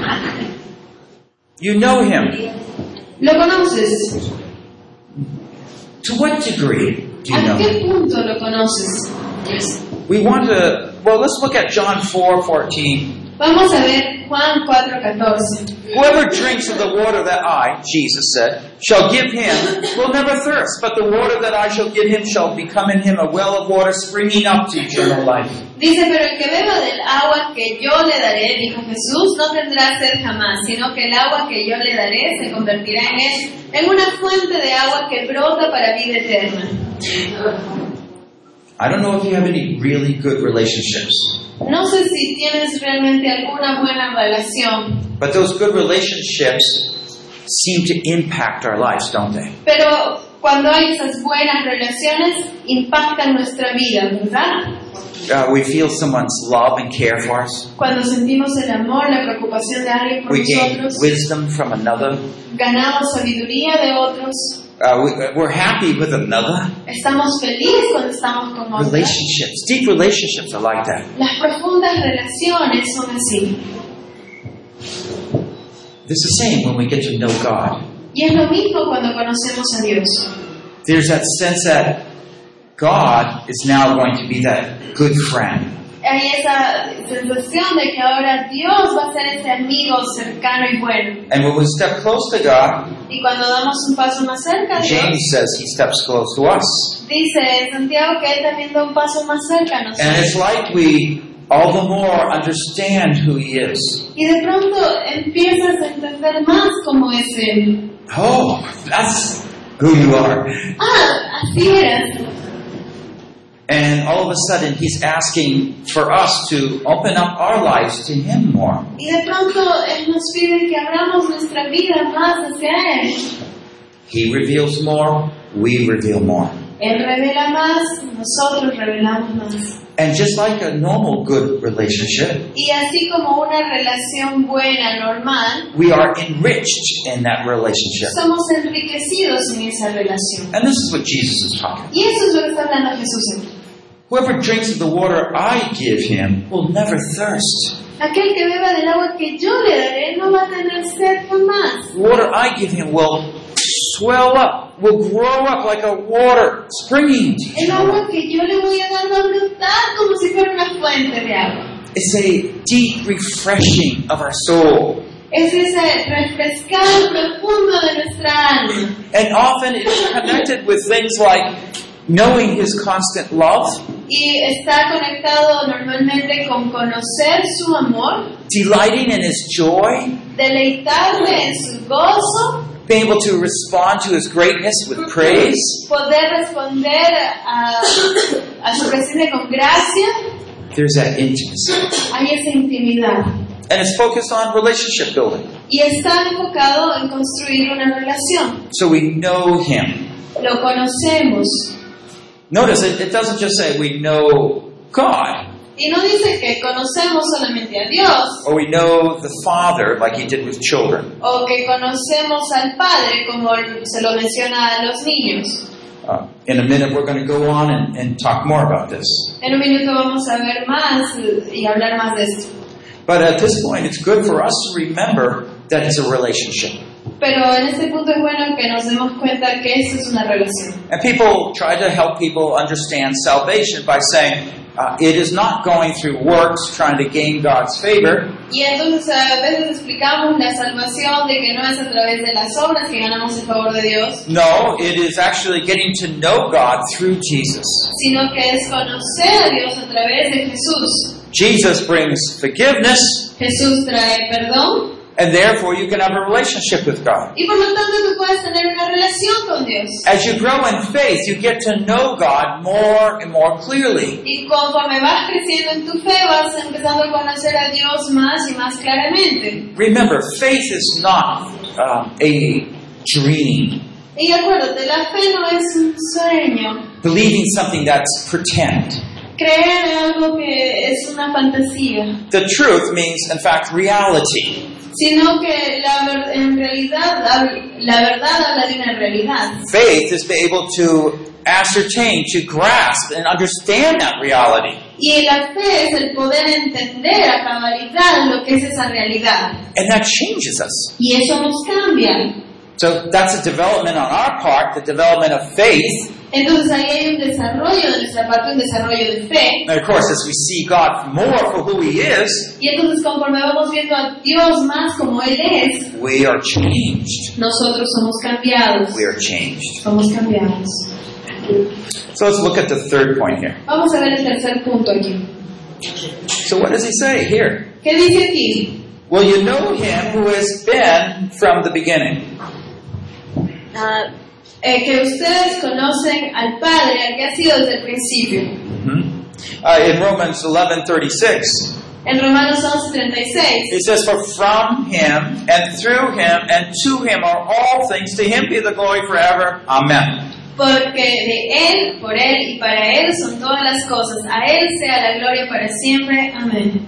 You know him.
¿Lo conoces?
To what degree do you know
¿A qué
him?
punto lo conoces?
We want to, well, let's look at John four fourteen.
Vamos a ver Juan cuatro catorce.
Whoever drinks of the water that I, Jesus said, shall give him will never thirst, but the water that I shall give him shall become in him a well of water springing up to eternal life.
Dice, pero el que beba del agua que yo le daré, dijo Jesús, no tendrá sed jamás, sino que el agua que yo le daré se convertirá en él en una fuente de agua que brota para vida eterna.
I don't know if you have any really good relationships,
No sé si tienes realmente alguna buena relación,
but those good relationships seem to impact our lives, don't they?
pero cuando hay esas buenas relaciones, impactan nuestra vida, ¿verdad?
Uh, we feel someone's love and care for us.
Cuando sentimos el amor, la preocupación de alguien por
We gain
nosotros,
wisdom from another.
ganamos sabiduría de otros,
Uh, we, we're happy with another.
estamos felices cuando estamos con otros.
Relationships, deep relationships are like that.
Las profundas relaciones son así.
It's the same when we get to know God.
Y es lo mismo cuando conocemos a Dios.
There's that sense that God is now going to be that good friend.
Hay esa sensación de que ahora Dios va a ser ese amigo cercano y bueno.
And when we step close to God,
Y cuando damos un paso más cerca a Dios,
James says he steps close to us.
dice Santiago que Él también da un paso más cerca a
And
nosotros.
it's like we all the more understand who he is.
Y de pronto empiezas a entender más cómo es Él.
Oh, that's who you are.
Ah, así eras.
And all of a sudden he's asking for us to open up our lives to him more.
Y de pronto Él nos pide que abramos nuestra vida más hacia Él.
He reveals more, we reveal more.
Él revela más, nosotros revelamos más.
And just like a normal good relationship,
Y así como una relación buena, normal,
we are enriched in that relationship.
somos enriquecidos en esa relación.
And this is what Jesus is talking about.
Y eso es lo que está hablando Jesús aquí.
Whoever drinks of the water I give him will never thirst.
Aquel que beba del agua que yo le daré no va a tener sed jamás.
The water I give him will swell up, will grow up like a water springing to
El
eternal life.
agua que yo le voy a dar va a brotar como si fuera una fuente de agua.
It's a deep refreshing of our soul.
Es ese refrescar profundo de nuestra alma.
And often it's connected with things like knowing His constant love,
Y está conectado normalmente con conocer su amor,
delighting in His joy,
deleitarme en su gozo,
being able to respond to His greatness with praise.
poder responder a, a su presencia con gracia.
There's that intimacy.
Hay esa intimidad.
And it's focused on relationship building.
Y está enfocado en construir una relación.
So we know Him.
Lo conocemos.
Notice it, it doesn't just say we know God,
Y no dice que conocemos solamente a Dios,
or we know the Father like He did with children.
o que conocemos al Padre como se lo menciona a los niños.
Uh, in a minute we're going to go on and, and talk more about this.
En un minuto vamos a ver más y hablar más de esto.
But at this point it's good for us to remember that it's a relationship.
Pero en este punto es bueno que nos demos cuenta que esto es una relación.
And people try to help people understand salvation by saying uh, it is not going through works trying to gain God's favor.
Y entonces a veces explicamos la salvación de que no es a través de las obras que ganamos el favor de Dios,
No, it is actually getting to know God through Jesus.
sino que es conocer a Dios a través de Jesús.
Jesus brings forgiveness,
Jesús trae perdón
and therefore you can have a relationship with God.
y por lo tanto tú puedes tener una relación con Dios.
As you grow in faith, you get to know God more and more clearly.
Y conforme vas creciendo en tu fe, vas empezando a conocer a Dios más y más claramente.
Remember, faith is not um, a dream,
Y acuérdate, la fe no es un sueño.
believing something that's pretend.
Creer en algo que es una fantasía,
The truth means, in fact, reality.
sino que la ver- en realidad hab- la verdad habla de una realidad.
Faith is to be able to ascertain, to grasp, and understand that reality.
Y la fe es el poder entender a cabalidad lo que es esa realidad.
And that changes us.
Y eso nos cambia.
So that's a development on our part, the development of faith.
Entonces ahí hay un desarrollo de nuestra parte, un desarrollo de fe.
And of course, as we see God more for who He is,
Y entonces conforme vamos viendo a Dios más como Él es,
we are changed.
nosotros somos cambiados.
We are changed.
Somos cambiados.
So let's look at the third point here.
Vamos a ver el tercer punto aquí.
So what does He say here?
¿Qué dice aquí?
Well, you know Him who has been from the beginning.
Ah, eh, que ustedes conocen al Padre, al que ha sido desde el principio.
Mm-hmm. Uh, in Romans eleven thirty-six,
En Romanos once treinta y seis,
it says, "For from Him and through Him and to Him are all things. To Him be the glory forever. Amen."
porque de Él, por Él y para Él son todas las cosas. A Él sea la gloria para siempre. Amén.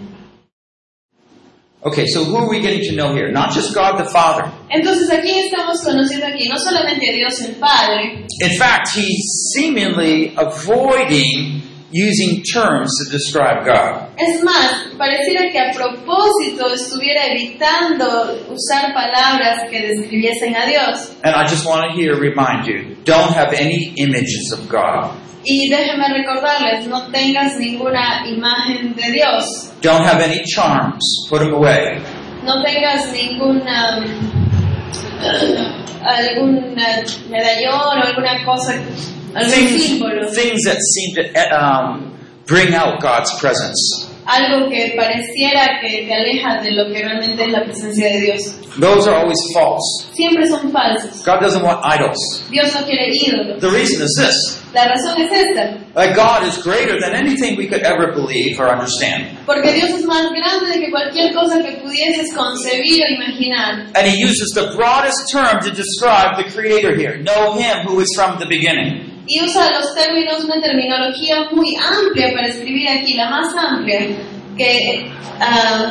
Okay, so who are we getting to know here? Not just God the Father.
Entonces aquí estamos conociendo aquí no solamente a Dios el Padre,
In fact, He's seemingly avoiding using terms to describe God.
es más, pareciera que a propósito estuviera evitando usar palabras que describiesen a Dios.
And I just want to here remind you, don't have any images of God.
Y déjenme recordarles, no tengas ninguna imagen de Dios,
Don't have any charms. Put them away.
no tengas ninguna algún medallón o alguna cosa, algún
Things,
símbolo,
things that seem to um, bring out God's presence.
algo que pareciera que te aleja de lo que realmente es la presencia de Dios.
Those are always false.
Siempre son falsos.
God doesn't want idols.
Dios no quiere ídolos.
The reason is this.
La razón es esta,
That God is greater than anything we could ever believe or understand.
porque Dios es más grande de que cualquier cosa que pudieses concebir o imaginar.
And He uses the broadest term to describe the Creator here. Know Him who is from the beginning.
Y usa los términos, una terminología muy amplia para escribir aquí, la más amplia, que uh,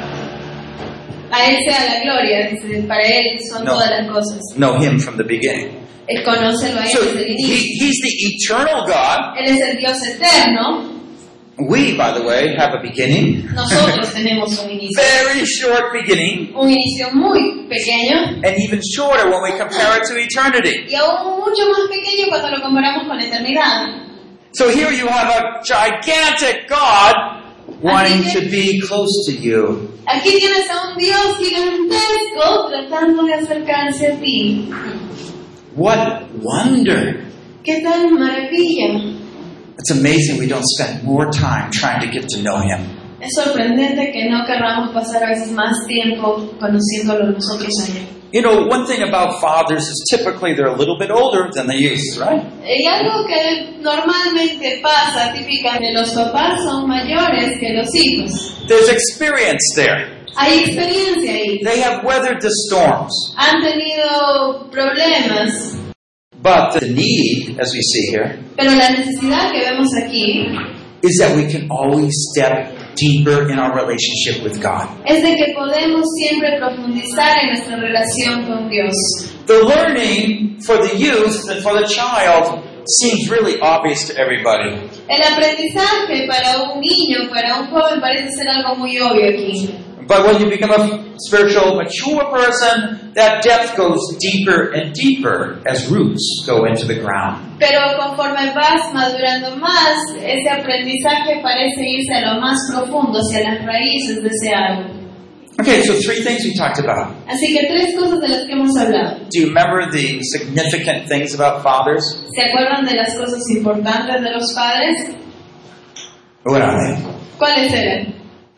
a Él sea la gloria, dice, para Él son
No.
todas las cosas.
Know Him from the beginning.
Él conócelo a Él
So
desde el
he,
inicio.
He's the eternal God.
Él es el Dios eterno.
We, by the way, have a beginning.
Nosotros tenemos un inicio.
Very short beginning.
Un inicio muy pequeño
And even shorter when we compare it to eternity.
y aún mucho más pequeño cuando lo comparamos con la eternidad.
So here you have a gigantic God wanting
Así que-
to be close to you.
Aquí tienes a un Dios gigantesco tratando de acercarse a ti.
What wonder!
¡Qué tal maravilla!
It's amazing we don't spend more time trying to get to know Him.
Es sorprendente que no querramos pasar a veces más tiempo conociéndolo nosotros a Él.
You know, one thing about fathers is typically they're a little bit older than the youth, right?
Y algo que normalmente pasa, típica de los papás, son mayores que los hijos.
There's experience there.
Hay experiencia ahí.
They have weathered the storms.
Han tenido problemas,
But the need, as we see here,
pero la necesidad que vemos aquí
is that we can always step deeper in our relationship with God.
es de que podemos siempre profundizar en nuestra relación con Dios.
The learning for the youth and for the child seems really obvious to everybody.
El aprendizaje para un niño, para un joven, parece ser algo muy obvio aquí.
But when you become a spiritual, mature person, that depth goes deeper and deeper as roots go into the ground.
Pero conforme vas madurando más, ese aprendizaje parece irse a lo más profundo, hacia las raíces de ese árbol.
Okay, so three things we talked about.
Así que tres cosas de las que hemos hablado.
Do you remember the significant things about fathers?
¿Se acuerdan de las cosas importantes de los padres?
What are they?
¿Cuáles eran?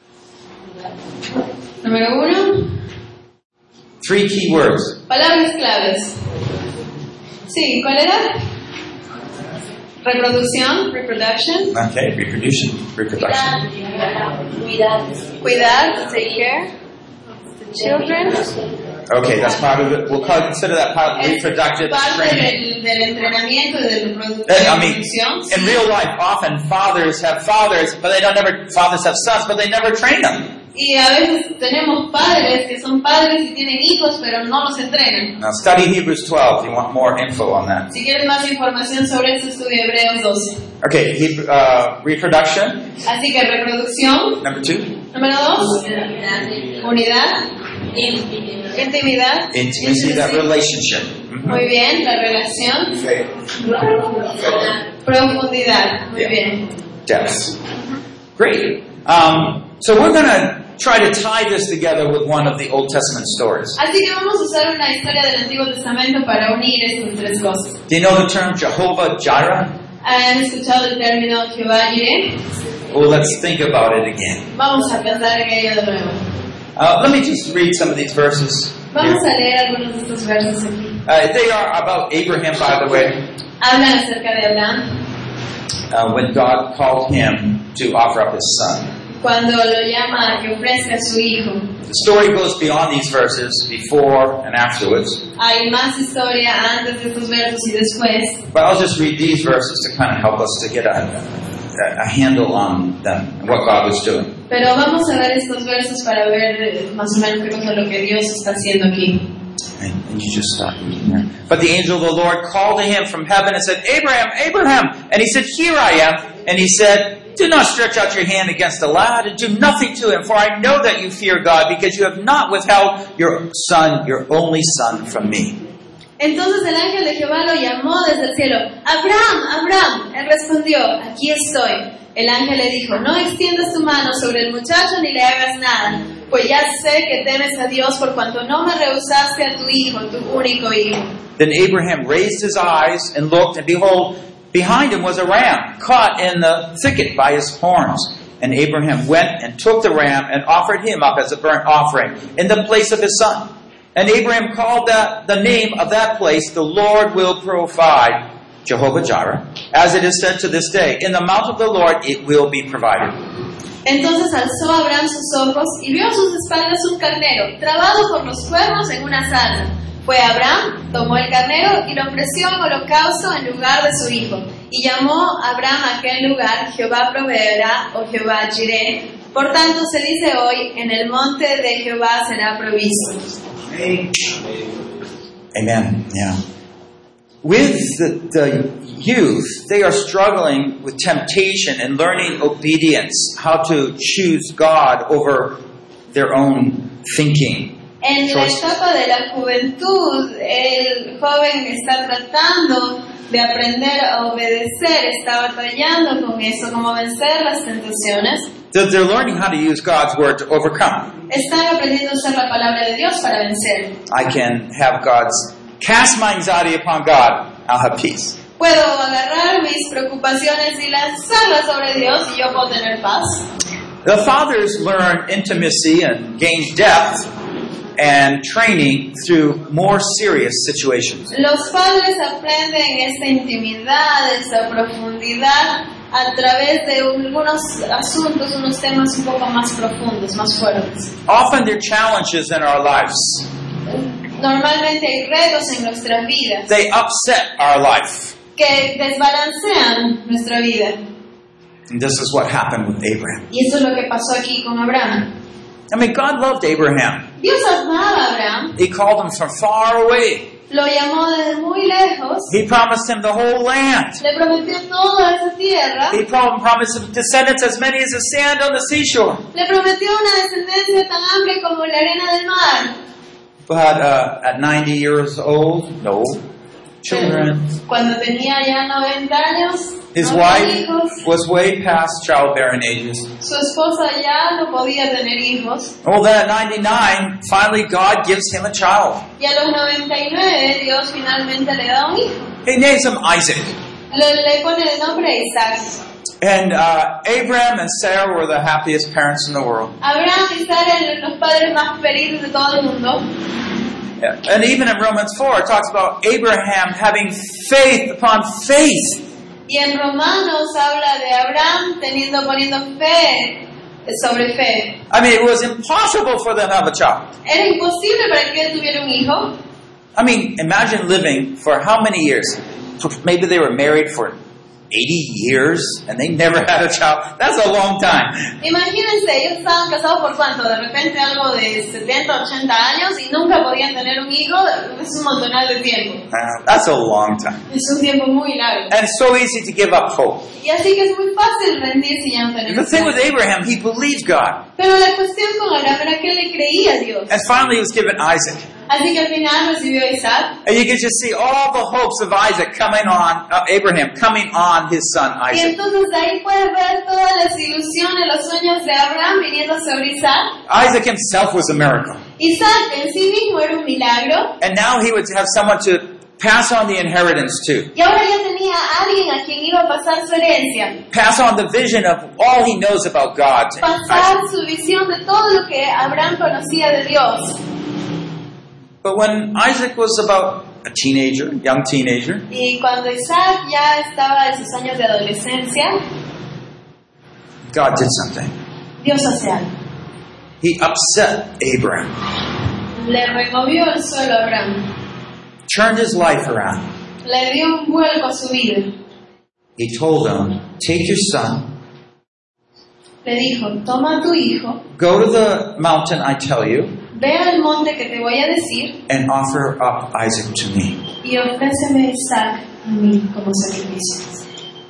Número uno,
Three key words.
palabras claves. Sí, ¿cuál era? Reproducción, reproduction.
Okay, reproduction, reproduction.
Cuidar, take care. Children.
Okay, that's part of it. We'll call, consider that part of
Es
reproductive
parte
training.
del, del entrenamiento y de reprodu-
And, I mean,
reproducción.
in real life, often fathers have fathers, but they don't never. Fathers have sons, but they never train them.
Y a veces tenemos padres que son padres y tienen hijos, pero no los entrenan.
Now, study Hebrews twelve if you want more info on that.
Si quieren más información sobre esto, estudia Hebreos doce.
Okay, Hebrew, uh, reproduction.
Así que reproducción.
Number two,
Número dos, unidad, intimidad,
intimacy, that relationship. Mhm.
muy bien, la relación, profundidad, muy
Yeah.
bien.
Depth. Great. Um, so we're going to try to tie this together with one of the Old Testament stories.
Así que vamos a usar una historia del Antiguo Testamento para unir estas tres cosas.
Do you know the term Jehovah Jireh?
¿Han escuchado el término Jehová Jireh?
Well, let's think about it again.
Vamos a pensar en ello de nuevo.
Uh, let me just read some of these verses.
Vamos
here.
a leer algunos de estos versos aquí.
Uh, they are about Abraham, by the way,
Hablan acerca de Abraham,
uh, when God called him to offer up his son.
cuando lo llama a que ofrezca a su hijo.
The story goes beyond these verses, before and afterwards.
Hay más historia antes de estos versos y después.
But I'll just read these verses to kind of help us to get a, a, a handle on them and what God was doing.
Pero vamos a ver estos versos para ver eh, más o menos qué cosa es lo que Dios está haciendo aquí.
And, and you just stop reading there. But the angel of the Lord called to him from heaven and said, Abraham, Abraham! And he said, Here I am. And he said, Do not stretch out your hand against the lad and do nothing to him, for I know that you fear God, because you have not withheld your son, your only son, from me.
Entonces el ángel de Jehová lo llamó desde el cielo. Abraham, Abraham. Él respondió, aquí estoy. El ángel le dijo, no extiendas tu mano sobre el muchacho ni le hagas nada, pues ya sé que temes a Dios por cuanto no me rehusaste a tu hijo, tu único hijo.
Then Abraham raised his eyes and looked, and behold, behind him was a ram, caught in the thicket by his horns. And Abraham went and took the ram and offered him up as a burnt offering in the place of his son. And Abraham called that the name of that place, the Lord will provide, Jehovah Jireh, as it is said to this day, in the mount of the Lord it will be provided.
Entonces alzó Abraham sus ojos y vio a sus espaldas un carnero, trabado por los cuernos en una zarza. Fue Abraham, tomó el carnero y lo ofreció en holocausto en lugar de su hijo. Y llamó Abraham a aquel lugar, Jehová proveerá, o Jehová Jireh. Por tanto se dice hoy, en el monte de Jehová será provisto.
Amen. Yeah. With the, the youth, they are struggling with temptation and learning obedience, how to choose God over their own thinking.
En la
Choice.
etapa de la juventud, el joven está tratando de aprender a obedecer, está batallando con eso, como vencer las tentaciones.
They're, they're learning how to use God's word to overcome.
Están aprendiendo a usar la palabra de Dios para vencer.
I can have God's, cast my anxiety upon God, I'll have peace.
Puedo agarrar mis preocupaciones y lanzarlas sobre Dios y yo puedo tener paz.
The fathers learn intimacy and gain depth and training through more serious situations.
Los padres aprenden esta intimidad, esta profundidad a través de algunos asuntos, unos temas un poco más profundos, más fuertes.
Often there are challenges in our lives.
Normalmente hay retos en nuestras vidas
They upset our life.
que desbalancean nuestra vida.
And this is what happened with Abraham.
Y eso es lo que pasó aquí con Abraham.
I mean, God loved Abraham.
Dios amaba a Abraham,
He called him from far away.
lo llamó desde muy lejos,
He promised him the whole land.
le prometió toda esa tierra,
He prom- promised him descendants as many as the sand on the seashore.
le prometió una descendencia tan amplia como la arena del mar.
But uh, at ninety years old, no children.
Cuando tenía ya noventa años,
His
no
wife
tenía hijos,
was way past childbearing ages.
su esposa ya no podía tener hijos,
Well, then at ninety-nine, finally God gives him a child.
y a los noventa y nueve Dios finalmente le da un hijo.
He names him Isaac.
Le, le pone el nombre de Isaac.
And uh, Abraham and Sarah were the happiest parents in the world.
Abraham y Sara eran los padres más felices de todo el mundo.
And even in Romans four, it talks about Abraham having faith upon faith.
Y en Romanos habla de Abraham teniendo, poniendo fe sobre fe.
I mean, it was impossible for them to have a child.
Era imposible para que él tuviera un hijo.
I mean, imagine living for how many years? Maybe they were married for eighty years and they never had a child. That's a long time.
Imagínense, ellos estaban casados por cuánto, de repente algo de setenta, ochenta años y nunca podían tener un hijo. Es un montonal de tiempo.
Uh, that's a long time.
Es un tiempo muy largo.
And it's so easy to give up hope.
Y así que es muy fácil rendirse y ya no tener
The thing with
hijos.
Abraham, he believed God.
Pero la cuestión con Abraham era que él le creía a Dios.
And finally he was given Isaac.
Así que al final recibió a Isaac.
And you can just see all the hopes of Isaac coming on, uh, Abraham coming on his son
Y
Isaac.
entonces ahí puedes ver todas las ilusiones, los sueños de Abraham viniendo sobre Isaac.
Isaac himself was a miracle.
Isaac en sí mismo era un milagro.
And now he would have someone to pass on the inheritance to.
Y ahora ya tenía a alguien a quien iba a pasar su herencia.
Pass on the vision of all he knows about God. to
Pasar
Isaac.
su visión de todo lo que Abraham conocía de Dios.
But when Isaac was about a teenager, young teenager,
Y cuando Isaac ya estaba en sus años de adolescencia,
God did something.
Dios hace algo.
He upset Abraham,
Le removió el suelo a Abraham.
turned his life around.
Le dio un vuelco a su vida.
He told him, take your son,
Le dijo, toma a tu hijo,
go to the mountain I tell you,
ve al monte que te voy a decir
and offer up Isaac to me.
y ofréceme a Isaac a mí como sacrificio.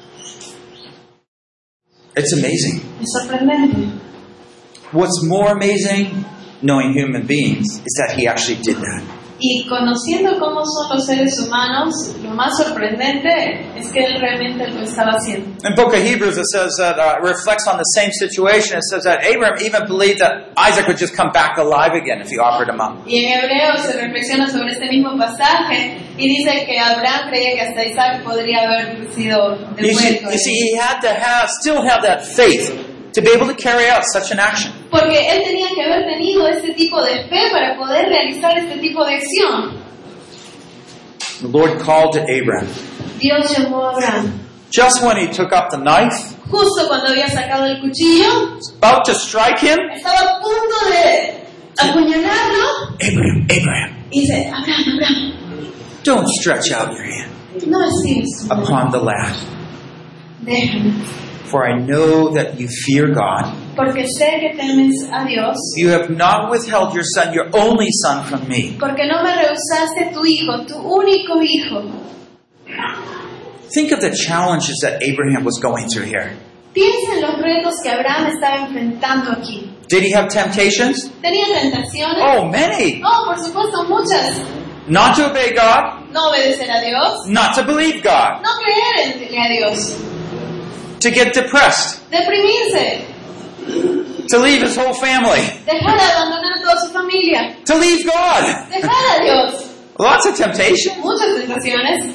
It's amazing.
Es sorprendente.
What's more amazing, knowing human beings, is that he actually did that.
Y conociendo cómo son los seres humanos, lo más sorprendente es que él realmente lo estaba haciendo.
In the book of Hebrews, it says that uh, it reflects on the same situation. It says that Abraham even believed that Isaac would just come back alive again if he offered him up.
Y en Hebreos se reflexiona sobre este mismo pasaje y dice que Abraham creía que hasta Isaac podría haber sido
You see,
devuelto.
you see, he had to have, still have that faith to be able to carry out such an action.
Porque él tenía que haber tenido ese tipo de fe para poder realizar este tipo de acción.
The Lord called to Abraham.
Dios llamó a Abraham.
Just when he took up the knife,
Justo cuando había sacado el cuchillo,
about to strike him,
estaba a punto de apuñalarlo
Abraham, Abraham,
y dice, Abraham, Abraham,
don't stretch out your hand
no estires tu mano.
upon the lad,
Déjame,
for I know that you fear God.
porque sé que temes a Dios,
You have not withheld your son, your only son, from me.
porque no me rehusaste tu hijo, tu único hijo.
Think of the challenges that Abraham was going through here.
Piensa en los retos que Abraham estaba enfrentando aquí.
Did he have temptations?
¿Tenía tentaciones?
Oh, many.
Oh, por supuesto, muchas.
Not to obey God,
No obedecer a Dios,
not to believe God,
no creer en a Dios,
to get depressed,
deprimirse,
To leave his whole family.
Dejar de abandonar a toda su familia.
To leave God.
Dejar a Dios.
Lots of temptation.
Muchas tentaciones.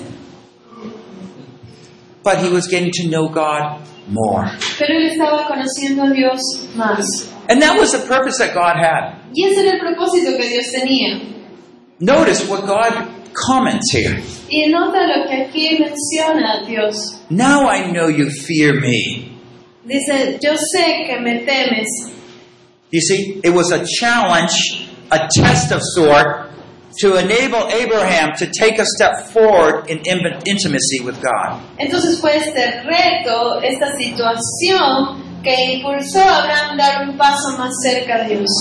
But he was getting to know God more.
Pero él estaba conociendo a Dios más.
And that was the purpose that God had.
Y ese era el propósito que Dios tenía.
Notice what God comments here.
Y nota lo que aquí menciona Dios.
Now I know you fear me.
Dice, yo sé que me temes.
You see, it was a challenge, a test of sort, to enable Abraham to take a step forward in intimacy with God.
Entonces fue este reto, esta situación que impulsó a Abraham a dar un paso más cerca a Dios.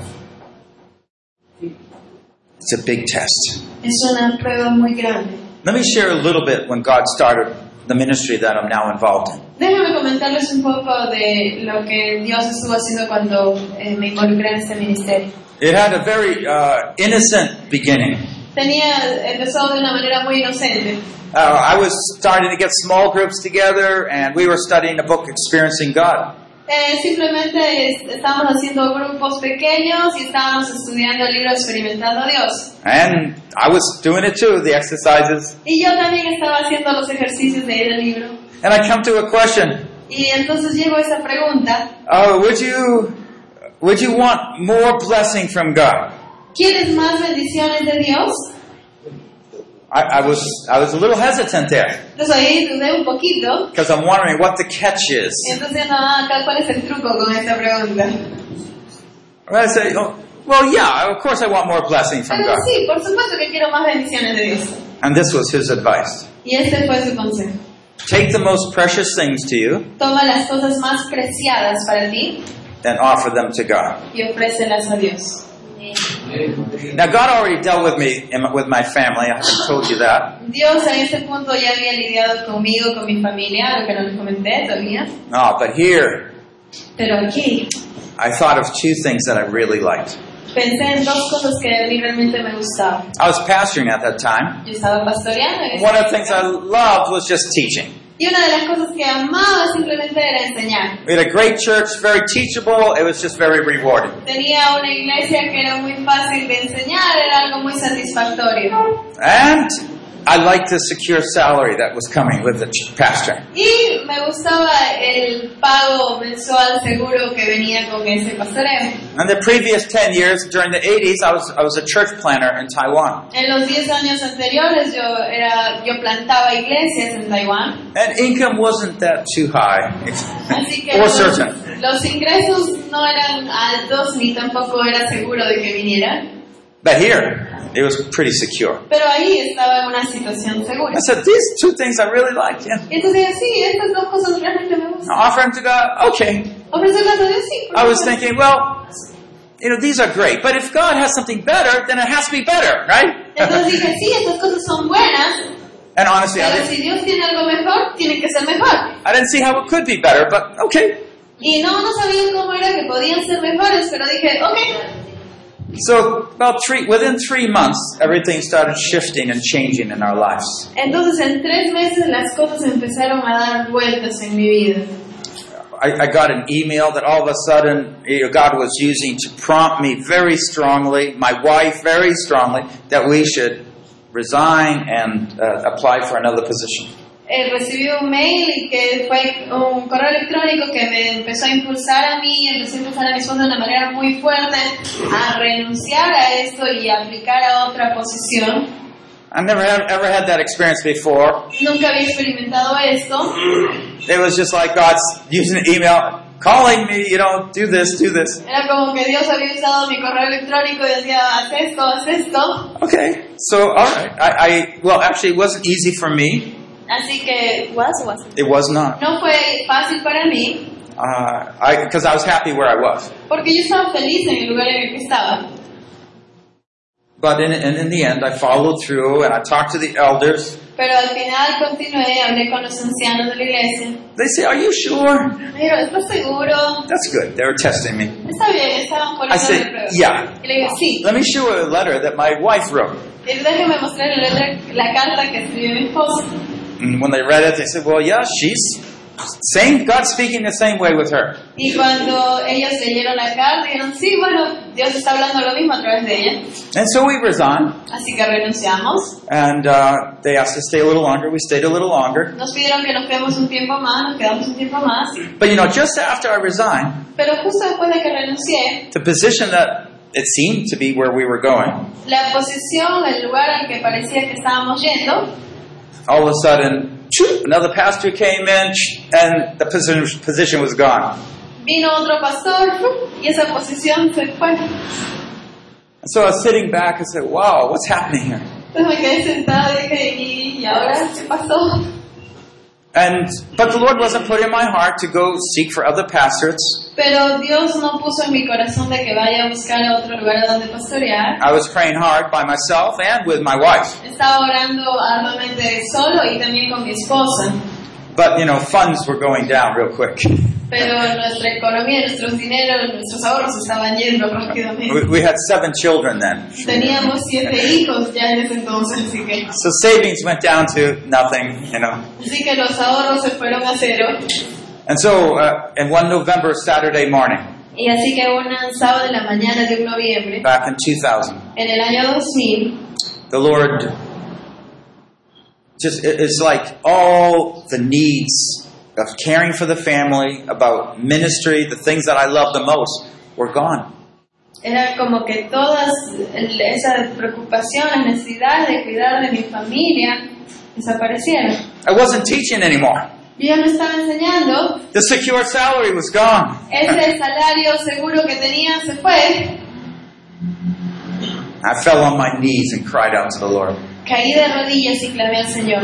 It's a big test.
Es una prueba muy grande.
Let me share a little bit when God started the ministry that I'm now involved in.
Déjame comentarles un poco de lo que Dios estuvo haciendo cuando eh, me involucré en este ministerio.
It had a very uh, innocent beginning.
Tenía, empezó de una manera muy inocente.
Uh, I was starting to get small groups together, and we were studying the book Experiencing God.
Eh, simplemente es, estábamos haciendo grupos pequeños y estábamos estudiando el libro Experimentando a Dios.
And I was doing it too, the exercises.
Y yo también estaba haciendo los ejercicios de ir al libro.
And I come to a question.
Y entonces llegó esa pregunta.
Oh, would you, would you want more blessing from God?
¿Quieres más bendiciones de Dios?
I, I was I was a little hesitant there
Entonces ahí dudé un poquito.
because I'm wondering what the catch is.
Entonces, no, acá, ¿cuál es el truco con esta pregunta?
I say, oh, well, yeah, of course I want more blessing from
Pero
God.
sí, por supuesto que quiero más bendiciones de Dios.
And this was his advice.
Y este fue su consejo.
Take the most precious things to you
Toma las cosas más preciadas para ti
and offer them to God.
y ofrécelas a Dios.
Now, God already dealt with me and with my family. I haven't told you that.
Dios en ese punto ya había lidiado conmigo, con mi familia, lo que no les comenté todavía.
No, but here,
Pero aquí
I thought of two things that I really liked.
pensé en dos cosas que a mí realmente me gustaban.
I was pastoring at that time.
Yo estaba pastoreando en ese
One of the things I
momento.
loved was just teaching.
Y una de las cosas que amaba simplemente era enseñar.
We had a great church, very teachable. It was just very rewarding.
Tenía una iglesia que era muy fácil de enseñar, era algo muy satisfactorio.
And I liked the secure salary that was coming with the ch- pastor.
Y me gustaba el pago mensual seguro que venía con ese pastoreo.
And the previous ten years, during the eighties, I was I was a church planter in Taiwan.
En los diez años anteriores yo era yo plantaba iglesias en Taiwán.
And income wasn't that too high.
Así que
Or
los,
certain.
los ingresos no eran altos ni tampoco era seguro de que vinieran.
But here, it was pretty secure.
Pero ahí estaba en una situación segura.
I said, these two things I really like. Yeah.
Y entonces dije, sí, estas dos cosas realmente me gustan.
Offer them to God, okay.
Ofrecerlas a Dios, sí. por
I was
supuesto.
thinking, well, you know, these are great. But if God has something better, then it has to be better, right?
Entonces dije, sí, estas cosas son buenas,
And honestly, I
pero
didn't,
si Dios tiene algo mejor, tiene que ser mejor.
I didn't see how it could be better, but okay.
Y no, no sabía cómo era que podían ser mejores, pero dije, ok.
So about three, within three months, everything started shifting and changing in our lives.
Entonces en tres meses las cosas empezaron a dar vueltas en mi vida.
I, I got an email that all of a sudden you know, God was using to prompt me very strongly, my wife very strongly, that we should resign and uh, apply for another position.
Eh, recibí un mail y que fue un correo electrónico que me empezó a impulsar a mí, empezó a impulsar a mi esposa de una manera muy fuerte a renunciar a esto y a aplicar a otra posición.
I never had, ever had that experience before.
Nunca había experimentado esto.
It was just like God's using an email, calling me, you know, do this, do this.
Era como que Dios había usado mi correo electrónico y decía, haz esto, haz esto.
Okay, so all right. I, I well, actually, it wasn't easy for me.
Así que, was or wasn't?
It was not.
No fue fácil para mí,
Uh, I because I was happy where I was.
porque yo estaba feliz en el lugar en el que estaba.
But in, and in the end, I followed through and I talked to the elders.
Pero al final continué, hablé con los ancianos de la iglesia.
They say, "Are you sure?"
Me dijeron, ¿estás seguro?
That's good. They were testing me.
Está bien, estaban
I
poniendo
said,
de prueba.
"Yeah."
Y le dije, sí.
Let me show you a letter that my wife wrote.
Y déjeme mostrarle la, letra- la carta que escribió mi esposa.
And when they read it, they said, "Well, yeah, she's Same, God speaking the same way with her.
Y cuando ellos leyeron la carta, dijeron, sí, bueno, Dios está hablando lo mismo a través de ella.
And so we resigned,
Así que renunciamos.
and uh, they asked us to stay a little longer. We stayed a little longer.
Nos pidieron que nos quedemos un tiempo más, nos quedamos un tiempo más.
But you know, just after I resigned,
Pero justo después de que renuncié,
the position that it seemed to be where we were going,
la posición, el lugar al que parecía que estábamos yendo,
all of a sudden, choop, another pastor came in, and the position, position was gone.
vino otro pastor y esa posición se fue.
And so I was sitting back and said, wow, what's happening here?
Entonces me quedé sentada y dije, ¿y, y ahora qué pasó?
And but the Lord wasn't putting in my heart to go seek for other pastorates.
Pero Dios no puso en mi corazón de que vaya a buscar otro lugar donde pastorear.
I was praying hard by myself and with my wife.
Estaba orando arduamente solo y también con mi esposa.
But, you know, funds were going down real quick.
Pero nuestra economía, nuestros dineros, nuestros ahorros estaban yendo rápidamente.
We, we had seven children then.
Teníamos siete hijos ya en ese entonces, así que,
So savings went down to nothing, you know.
así que los ahorros se fueron a cero.
And so, uh, in one November Saturday morning,
Y así que un sábado de la mañana de un noviembre,
back in two thousand,
en el año dos mil,
the Lord just, it- it's like all the needs of caring for the family, about ministry, the things that I love the most, were gone.
era como que todas el- esas preocupaciones, necesidades de cuidar de mi familia desaparecieron.
I wasn't teaching anymore.
Yo ya no estaba enseñando,
The secure salary was gone.
ese salario seguro que tenía se fue.
I fell on my knees and cried out to the Lord.
Caí de rodillas y clamé al Señor.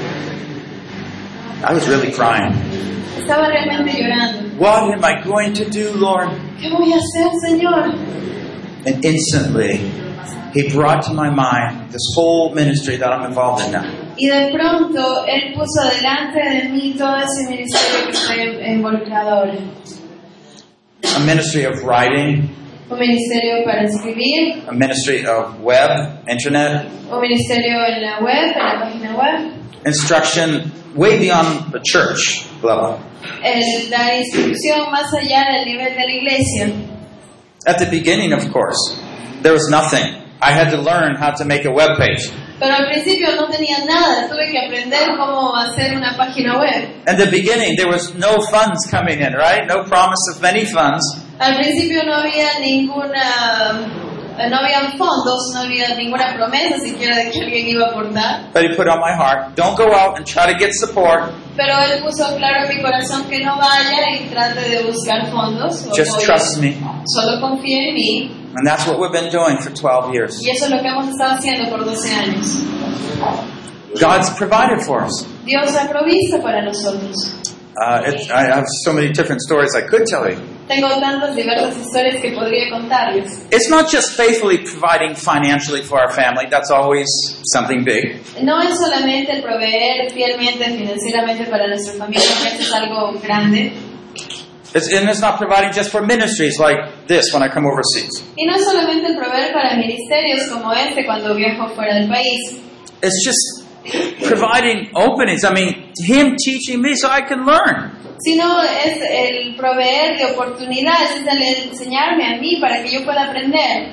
I was really crying.
Estaba realmente llorando.
What am I going to do, Lord?
¿Qué voy a hacer, Señor?
And instantly, He brought to my mind this whole ministry that I'm involved in now.
Y de pronto Él puso delante de mí todo ese ministerio que estoy involucrado ahora.
A ministry of writing,
Un ministerio para escribir,
a ministry of web, internet,
un ministerio en la web, en la página web,
instruction way beyond the church level.
el dar instrucción más allá del nivel de la iglesia.
At the beginning, of course, there was nothing. I had to learn how to make a web page.
Pero al principio no tenía nada, tuve que aprender cómo hacer una página web.
At the beginning, there was no funds coming in, right? No promise of many funds.
Al principio no había ninguna, no habían fondos, no había ninguna promesa siquiera de que alguien iba a aportar.
But He put on my heart, don't go out and try to get support.
Pero Él puso claro en mi corazón que no vaya y trate de buscar fondos. o
Just
apoyo.
trust me.
Solo confíe en mí.
And that's what we've been doing for twelve years.
Y eso es lo que hemos estado haciendo por doce años.
God's provided for us.
Dios ha provisto para nosotros.
Uh, it, I have so many different stories I could tell you.
Tengo tantas diversas historias que podría contarles.
It's not just faithfully providing financially for our family. That's always something big.
No es solamente el proveer fielmente financieramente para nuestra familia, que eso es algo grande.
It's, and it's not providing just for ministries like this when I come overseas.
Y no es solamente el proveer para ministerios como este cuando viajo fuera del país.
It's just providing openings. I mean, Him teaching me so I can learn.
Sino es el proveer de oportunidades, es el enseñarme a mí para que yo pueda aprender.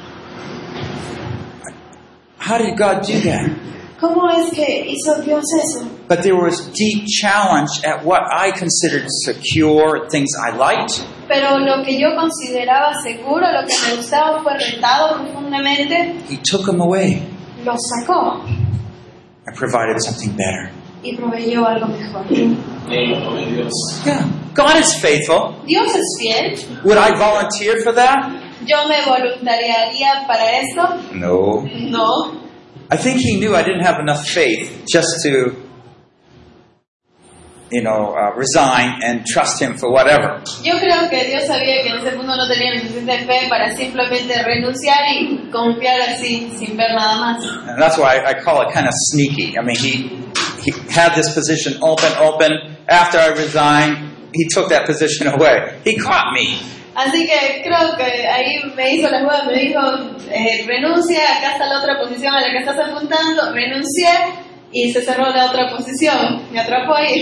How did God do that?
¿Cómo es que hizo Dios eso?
But there was deep challenge at what I considered secure, things I liked.
Pero lo que yo consideraba seguro, lo que me gustaba, fue retado profundamente,
He took them away
lo sacó
and provided something better.
y proveyó algo mejor.
Yeah. God is faithful.
Dios es fiel.
Would I volunteer for that?
¿Yo me voluntariaría para esto?
No.
No.
I think He knew I didn't have enough faith just to, you know, uh, resign and trust Him for whatever.
Yo creo que Dios sabía que en ese punto no tenía suficiente fe para simplemente renunciar y confiar así, sin ver nada más.
And that's why I call it kind of sneaky. I mean, He, he had this position open, open. After I resigned, He took that position away. He caught me.
Así que creo que ahí me hizo la jugada, me dijo, eh, renuncia, acá está la otra posición a la que estás apuntando, renuncié y se cerró la otra posición, me atrapó ahí.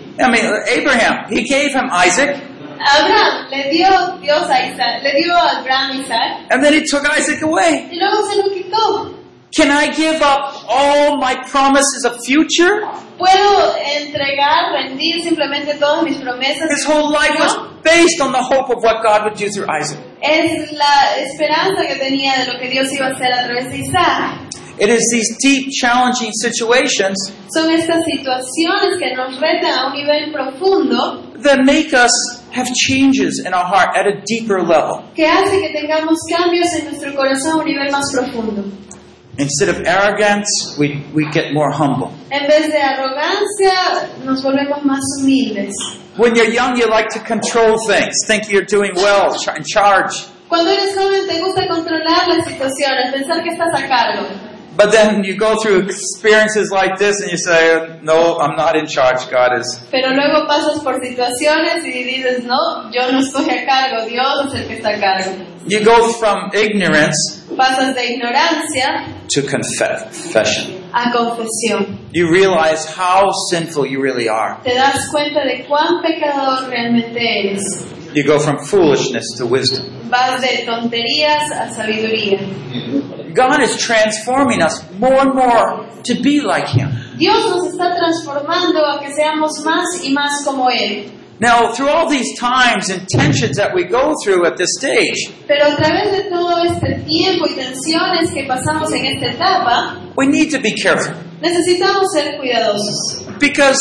I mean, Abraham, he gave him Isaac,
Abraham le dio Dios a Isaac, le dio a Abraham Isaac
and then he took Isaac away.
y luego se lo quitó.
Can I give up all my promises of future?
¿Puedo entregar, rendir simplemente todas mis promesas?
His whole life was based on the hope of what God would do through Isaac.
Es la esperanza que tenía de lo que Dios iba a hacer a través de Isaac.
It is these deep, challenging situations
Son estas situaciones que nos retan a un nivel profundo
that make us have changes in our heart at a deeper level.
que hace que tengamos cambios en nuestro corazón a un nivel más profundo.
Instead of arrogance, we, we get more humble.
En vez de arrogancia, nos volvemos más humildes.
When you're young, you like to control things, think you're doing well, ch- in charge.
Cuando eres joven te gusta controlar las situaciones, pensar que estás a cargo.
But then you go through experiences like this and you say, no, I'm not in charge, God is.
Pero luego pasas por situaciones y dices, no, yo no estoy a cargo, Dios es el que está a cargo.
You go from ignorance
Pasas de ignorancia
to confession.
a confesión.
You realize how sinful you really are.
Te das cuenta de cuán pecador realmente eres.
You go from foolishness to wisdom.
Vas de tonterías a sabiduría.
God is transforming us more and more to be like Him.
Dios nos está transformando a que seamos más y más como Él.
Now, through all these times and tensions that we go through at this stage,
Pero a través de todo este tiempo y tensiones que pasamos en esta etapa,
we need to be careful
necesitamos ser cuidadosos.
because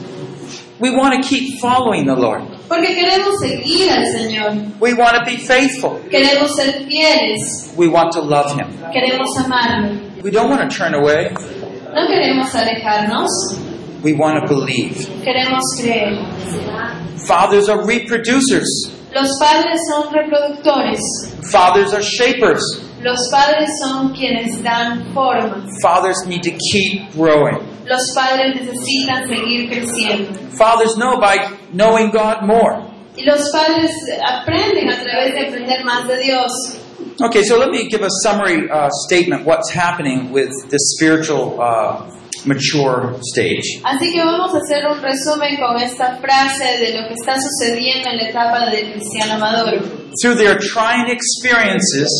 we want to keep following the Lord.
Porque queremos seguir al Señor.
We want to be faithful.
Queremos ser fieles.
We want to love Him.
Queremos amarlo.
We don't want to turn away.
No queremos alejarnos.
We want to believe.
Queremos creer.
Fathers are reproducers.
Los padres son reproductores.
Fathers are shapers.
Los padres son quienes dan forma.
Fathers need to keep growing.
Los padres necesitan seguir creciendo.
Fathers know by knowing God more.
Y los padres aprenden a través de aprender más de Dios.
Okay, so let me give a summary uh, statement what's happening with this spiritual uh, mature stage.
Así que vamos a hacer un resumen con esta frase de lo que está sucediendo en la etapa del cristiano maduro.
Through their trying experiences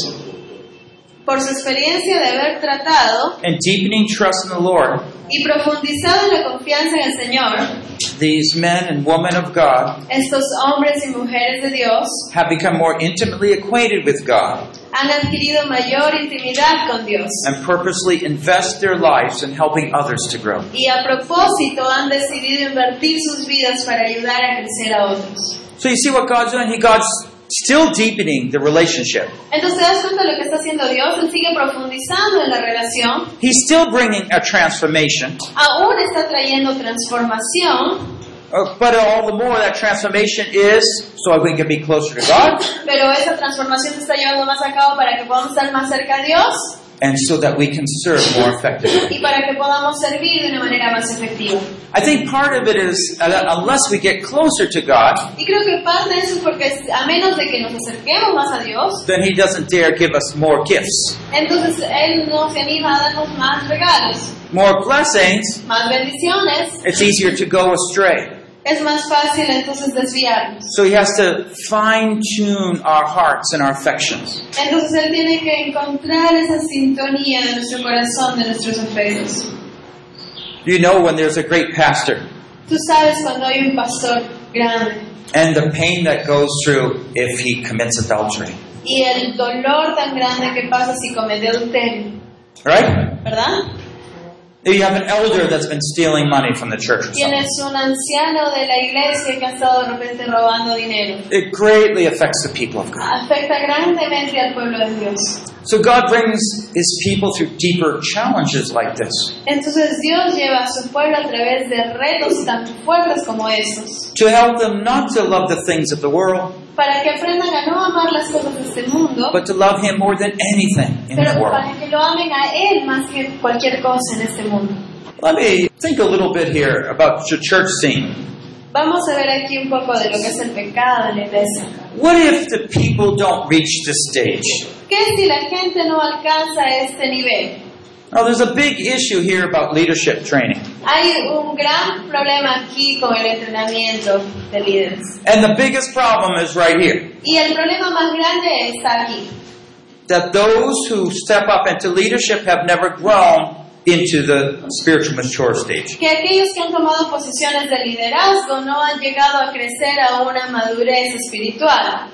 Por su experiencia de haber tratado
and deepening trust in the Lord,
y profundizado en la confianza en el Señor,
these men and women of God
estos hombres y mujeres de Dios
have become more intimately acquainted with God
han adquirido mayor intimidad con Dios
and purposely invest their lives in helping others to grow.
y a propósito han decidido invertir sus vidas para ayudar a crecer a otros.
So you see what God's doing? He God's still deepening the relationship.
Entonces te das cuenta de lo que está haciendo Dios, Él sigue profundizando en la relación,
He's still bringing a transformation,
aún está trayendo transformación,
uh, but all the more that transformation is so we can be closer to God
pero esa transformación se está llevando más a cabo para que podamos estar más cerca de Dios
and so that we can serve more effectively.
y para que podamos servir de una manera más efectiva.
I think part of it is uh, that unless we get closer to God,
Y creo que parte de eso es porque a menos de que nos acerquemos más a Dios,
then He doesn't dare give us more gifts,
entonces Él no se anima a darnos más regalos,
more blessings.
más bendiciones.
It's easier to go astray.
Es más fácil entonces desviarnos.
So He has to fine-tune our hearts and our affections.
Entonces Él tiene que encontrar esa sintonía de nuestro corazón, de nuestros afectos.
You know when there's a great pastor
Tú sabes cuando hay un pastor grande
and the pain that goes through if he commits adultery,
y el dolor tan grande que pasa si comete adulterio,
right?
¿verdad?
You have an elder that's been stealing money from the church or something.
Tienes un anciano de la iglesia que ha estado de repente robando dinero.
It greatly affects the people of God.
Afecta grandemente al pueblo de Dios.
So God brings His people through deeper challenges like this
Entonces Dios lleva a su pueblo a través de retos tan fuertes como esos,
to help them not to love the things of the world,
para que aprendan a no amar las cosas de este mundo,
but to love Him more than anything in the
pero
world.
para que lo amen a Él más que cualquier cosa en este mundo.
Let me think a little bit here about the church scene.
Vamos a ver aquí un poco de lo que es el pecado en la iglesia.
What if the people don't reach this stage?
¿Qué si la gente no alcanza este nivel?
Now, there's a big issue here about leadership training.
Hay un gran problema aquí con el entrenamiento de líderes.
And the biggest problem is right here.
Y el problema más grande está aquí.
That those who step up into leadership have never grown into the spiritual mature stage.
Que aquellos que han tomado posiciones de liderazgo no han llegado a crecer a una madurez espiritual.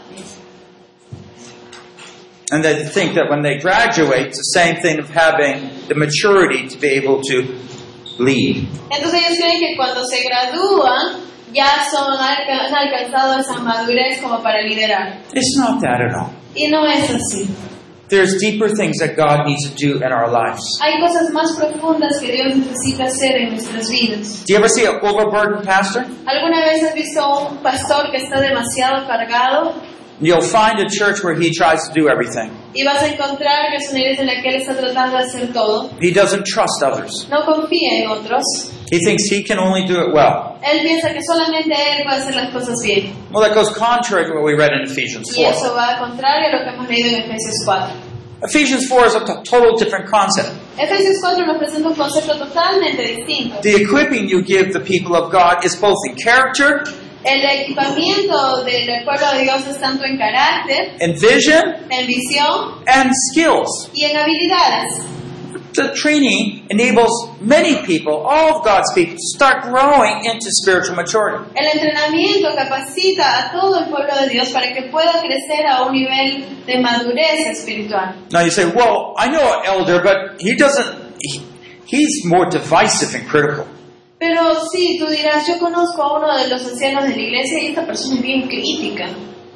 And they think that when they graduate, it's the same thing of having the maturity to be able to lead.
Entonces ellos creen que cuando se gradúan ya son, han alcanzado esa madurez como para liderar.
It's not that at all.
Y no es así.
There's deeper things that God needs to do in our lives.
Hay cosas más profundas que Dios necesita hacer en nuestras vidas.
Do you ever see an overburdened pastor?
¿Alguna vez has visto a un pastor que está demasiado cargado?
You'll find a church where he tries to do everything.
Y vas a encontrar que es una iglesia en la que él está tratando de hacer todo.
He doesn't trust others.
No confía en otros.
He thinks he can only do it well.
Él piensa que solamente él puede hacer las cosas bien.
Well, that goes contrary to what we read in Ephesians
Y
four.
eso va contrario a lo que hemos leído en Efesios cuatro.
Ephesians four is a t- total different concept.
Efesios cuatro nos presenta un concepto totalmente distinto.
The equipping you give the people of God is both in character,
El equipamiento del pueblo de Dios es tanto en carácter,
in vision,
en visión
and skills.
y en habilidades.
The training enables many people, all of God's people, to start growing into spiritual maturity.
El entrenamiento capacita a todo el pueblo de Dios para que pueda crecer a un nivel de madurez espiritual.
Now you say, well, I know an elder, but he doesn't, he, he's more divisive and critical.
Pero sí, tú dirás, yo conozco a uno de los ancianos de la iglesia y esta persona es bien crítica.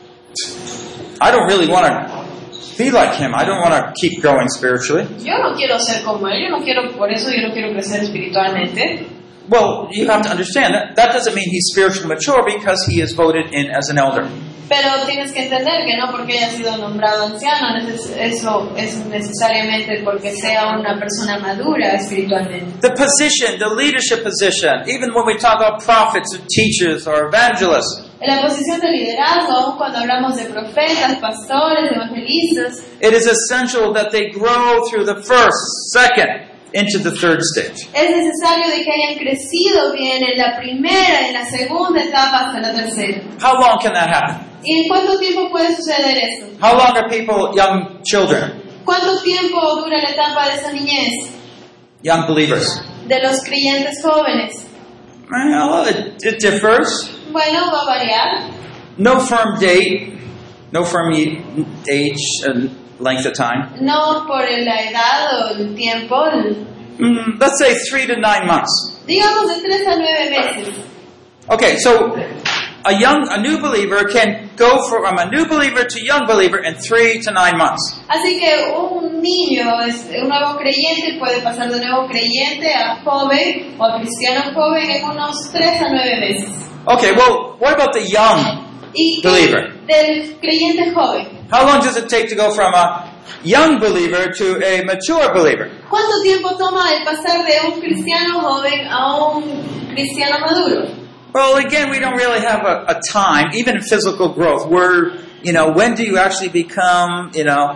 I don't really want to be like him. I don't want to keep growing spiritually.
Yo no quiero ser como él, yo no quiero, por eso yo no quiero crecer espiritualmente.
Well, you have to understand that that doesn't mean he's spiritually mature because he is voted in as an elder.
Pero tienes que entender que no porque haya sido nombrado anciano, neces- eso es necesariamente porque sea una persona madura espiritualmente.
The position, the leadership position, even when we talk about prophets or teachers or evangelists,
En la posición de liderazgo, aun cuando hablamos de profetas, pastores, evangelistas,
it is essential that they grow through the first, second, into the third stage.
es necesario de que hayan crecido bien en la primera, en la segunda etapa hasta la tercera.
How long can that happen?
¿Y en cuánto tiempo puede suceder eso?
How long are people, young children,
¿Cuánto tiempo dura la etapa de esa niñez?
young believers?
De los creyentes jóvenes.
Well, it, it differs.
Bueno, va a variar.
No firm date, no firm ye- age and length of time.
No por la edad o el tiempo, el-
Mm, let's say three to nine months.
digamos de tres a nueve meses.
Okay, so a young, a new believer can go from a new believer to young believer in three to nine months.
Así que un niño, es- un nuevo creyente puede pasar de nuevo creyente a joven o a cristiano joven en unos tres a nueve meses.
Okay, well, what about the young
¿Y qué
believer?
del creyente joven?
How long does it take to go from a young believer to a mature believer?
¿Cuánto tiempo toma el pasar de un cristiano joven a un cristiano maduro?
Well, again, we don't really have a, a time, even in physical growth. We're, you know, when do you actually become, you know,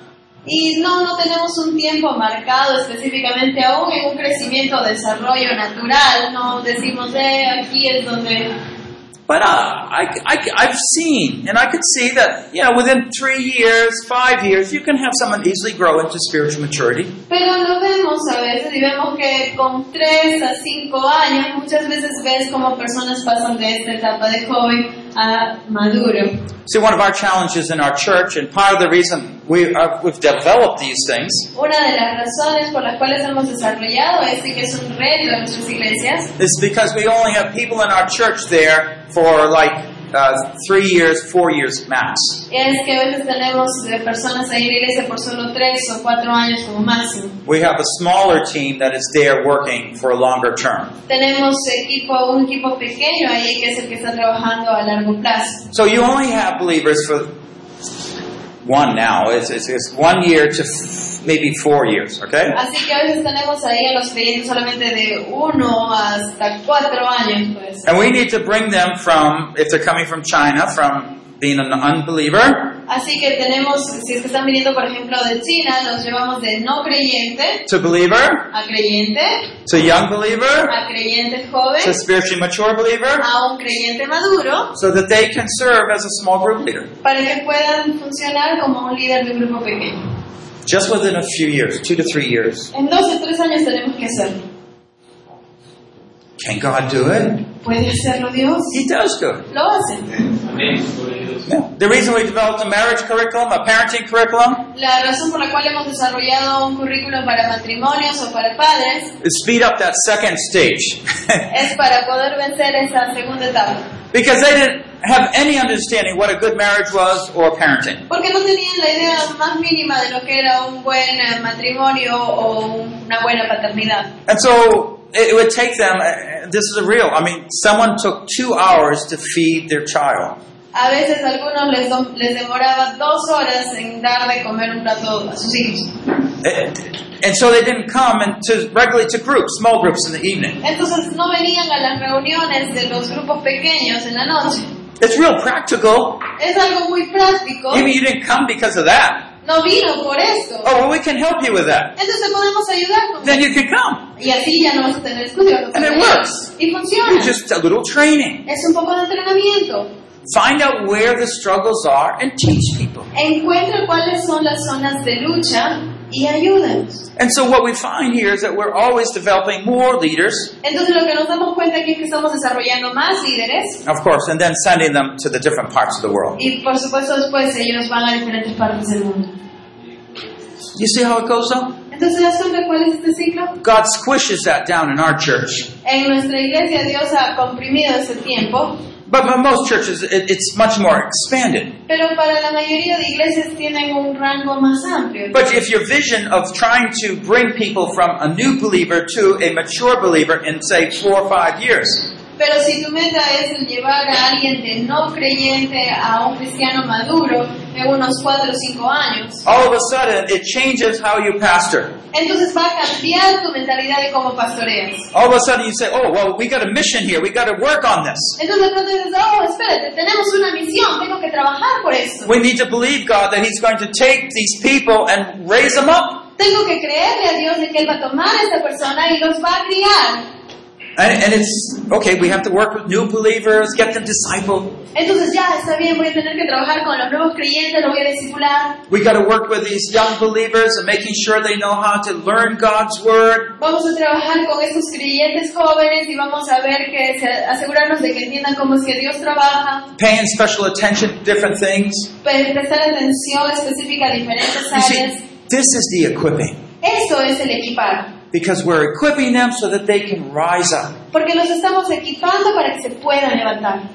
Y no, no tenemos un tiempo marcado específicamente aún en un crecimiento o desarrollo natural. No decimos, eh, aquí es donde...
but uh, I, I, I've seen, and I could see that, you know, within three years, five years, you can have someone easily grow into spiritual maturity.
Pero lo vemos a veces y vemos que con tres a cinco años muchas veces ves como personas pasan de esta etapa de joven a maduro.
See, one of our challenges in our church, and part of the reason we are, we've developed these things,
Una de las razones por las cuales hemos desarrollado este que es un reto en nuestras iglesias
is because we only have people in our church there for like uh, three years, four years max.
es que a veces tenemos eh, personas ahí en la iglesia por solo tres o cuatro años como máximo.
We have a smaller team that is there working for a longer term.
Tenemos equipo, un equipo pequeño ahí que es el que está trabajando a largo plazo.
So you only have believers for one now. It's, it's, it's one year to f- maybe four years, okay?
Así que a veces tenemos ahí a los creyentes solamente de uno hasta cuatro años, pues.
And we need to bring them from, if they're coming from China, from being an unbeliever
Así que tenemos, si es que están viniendo por ejemplo de China, los llevamos de no creyente
to believer,
a creyente,
to young believer,
a creyente joven,
to spiritually mature believer,
a un creyente maduro,
so that they can serve as a small group leader.
para que puedan funcionar como un líder de un grupo pequeño.
Just within a few years, two to three years.
En dos o tres años tenemos que hacerlo.
Can God do it?
¿Puede hacerlo Dios?
He does do it.
Lo hace.
Yeah. The reason we developed a marriage curriculum, a parenting curriculum,
La razón por la cual hemos desarrollado un currículum para matrimonios o para padres
is speed up that second stage.
es para poder vencer esa segunda etapa.
Because they didn't have any understanding what a good marriage was or parenting.
Porque no tenían la idea más mínima de lo que era un buen eh, matrimonio o un- una buena paternidad.
And so it it would take them, uh, this is a real, I mean, someone took two hours to feed their child.
A veces a algunos les, do- les demoraba dos horas en dar de comer un plato a sus hijos.
It- and so they didn't come and to regularly to groups, small groups in the evening.
Entonces no venían a las reuniones de los grupos pequeños en la noche.
It's real practical.
Es algo muy práctico.
Maybe you didn't come because of that.
No vino por esto.
Oh, well, we can help you with that.
Entonces podemos ayudar con
Then
eso.
you can come.
Y así ya no vas a tener estudio. vas a
And it
tener-
works.
Y funciona.
It's just a little training.
Es un poco de entrenamiento.
Find out where the struggles are and teach people.
Encuentra cuáles son las zonas de lucha y ayúdanos.
And so what we find here is that we're always developing more leaders,
Entonces lo que nos damos cuenta aquí es que estamos desarrollando más líderes
of course, and then sending them to the different parts of the world.
y por supuesto después ellos van a diferentes partes del mundo.
You see how it goes though?
Entonces, ¿te das cuenta cuál es este ciclo?
God squishes that down in our church.
En nuestra iglesia Dios ha comprimido ese tiempo,
But for most churches, it, it's much more expanded.
pero para la mayoría de iglesias tienen un rango más amplio.
But if your vision of trying to bring people from a new believer to a mature believer in, say, four or five years,
Pero si tu meta es el llevar a alguien de no creyente a un cristiano maduro en unos cuatro o cinco años,
all of a sudden it changes how you pastor.
entonces va a cambiar tu mentalidad de cómo pastoreas.
All of a sudden you say, oh, well, we got a mission here. We got to work on this.
Entonces de pronto dices, oh, espérate, tenemos una misión, tengo que trabajar por esto.
We need to believe God that He's going to take these people and raise them up.
Tengo que creerle a Dios de que Él va a tomar a esta persona y los va a criar.
And, and it's, okay, we have to work with new believers, get them discipled.
Entonces ya, está bien, voy a tener que trabajar con los nuevos creyentes, los voy a discipular.
We got to work with these young believers and making sure they know how to learn God's Word.
Vamos a trabajar con estos creyentes jóvenes y vamos a ver que se- asegurarnos de que entiendan cómo es que Dios trabaja,
Paying special attention to different things.
pre- prestar atención específica a diferentes
You see,
áreas.
this is the equipping.
Eso es el equipar,
Because we're equipping them so that they can rise up.
porque los estamos equipando para que se puedan levantar.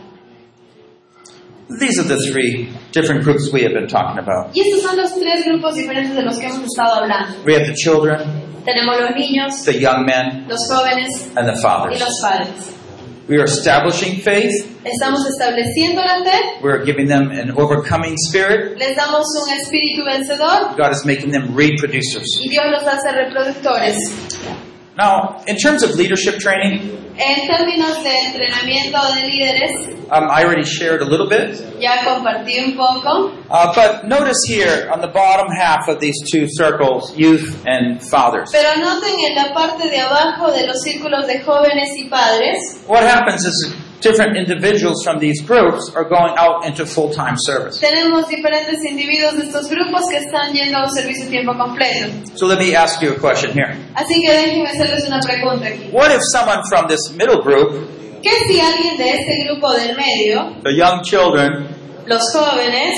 These are the three different groups we have been talking about.
Y estos son los tres grupos diferentes de los que hemos estado hablando.
We have the children,
Tenemos los niños,
the young men,
los jóvenes
and the
y
fathers.
los padres.
We are establishing faith.
Estamos estableciendo la fe,
We're giving them an overcoming spirit.
les damos un espíritu vencedor
God is making them reproducers.
y Dios los hace reproductores.
Now, in terms of leadership training,
En términos de entrenamiento de líderes,
um, I already shared a little bit.
ya compartí un poco,
Uh, but notice here on the bottom half of these two circles, youth and fathers.
pero noten en la parte de abajo de los círculos de jóvenes y padres,
What happens is different individuals from these groups are going out into full-time service.
tenemos diferentes individuos de estos grupos que están yendo a un servicio a tiempo completo.
So let me ask you a question here.
Así que déjenme hacerles una pregunta aquí.
What if someone from this middle group,
¿Qué si alguien de este grupo del medio,
the young children,
los jóvenes,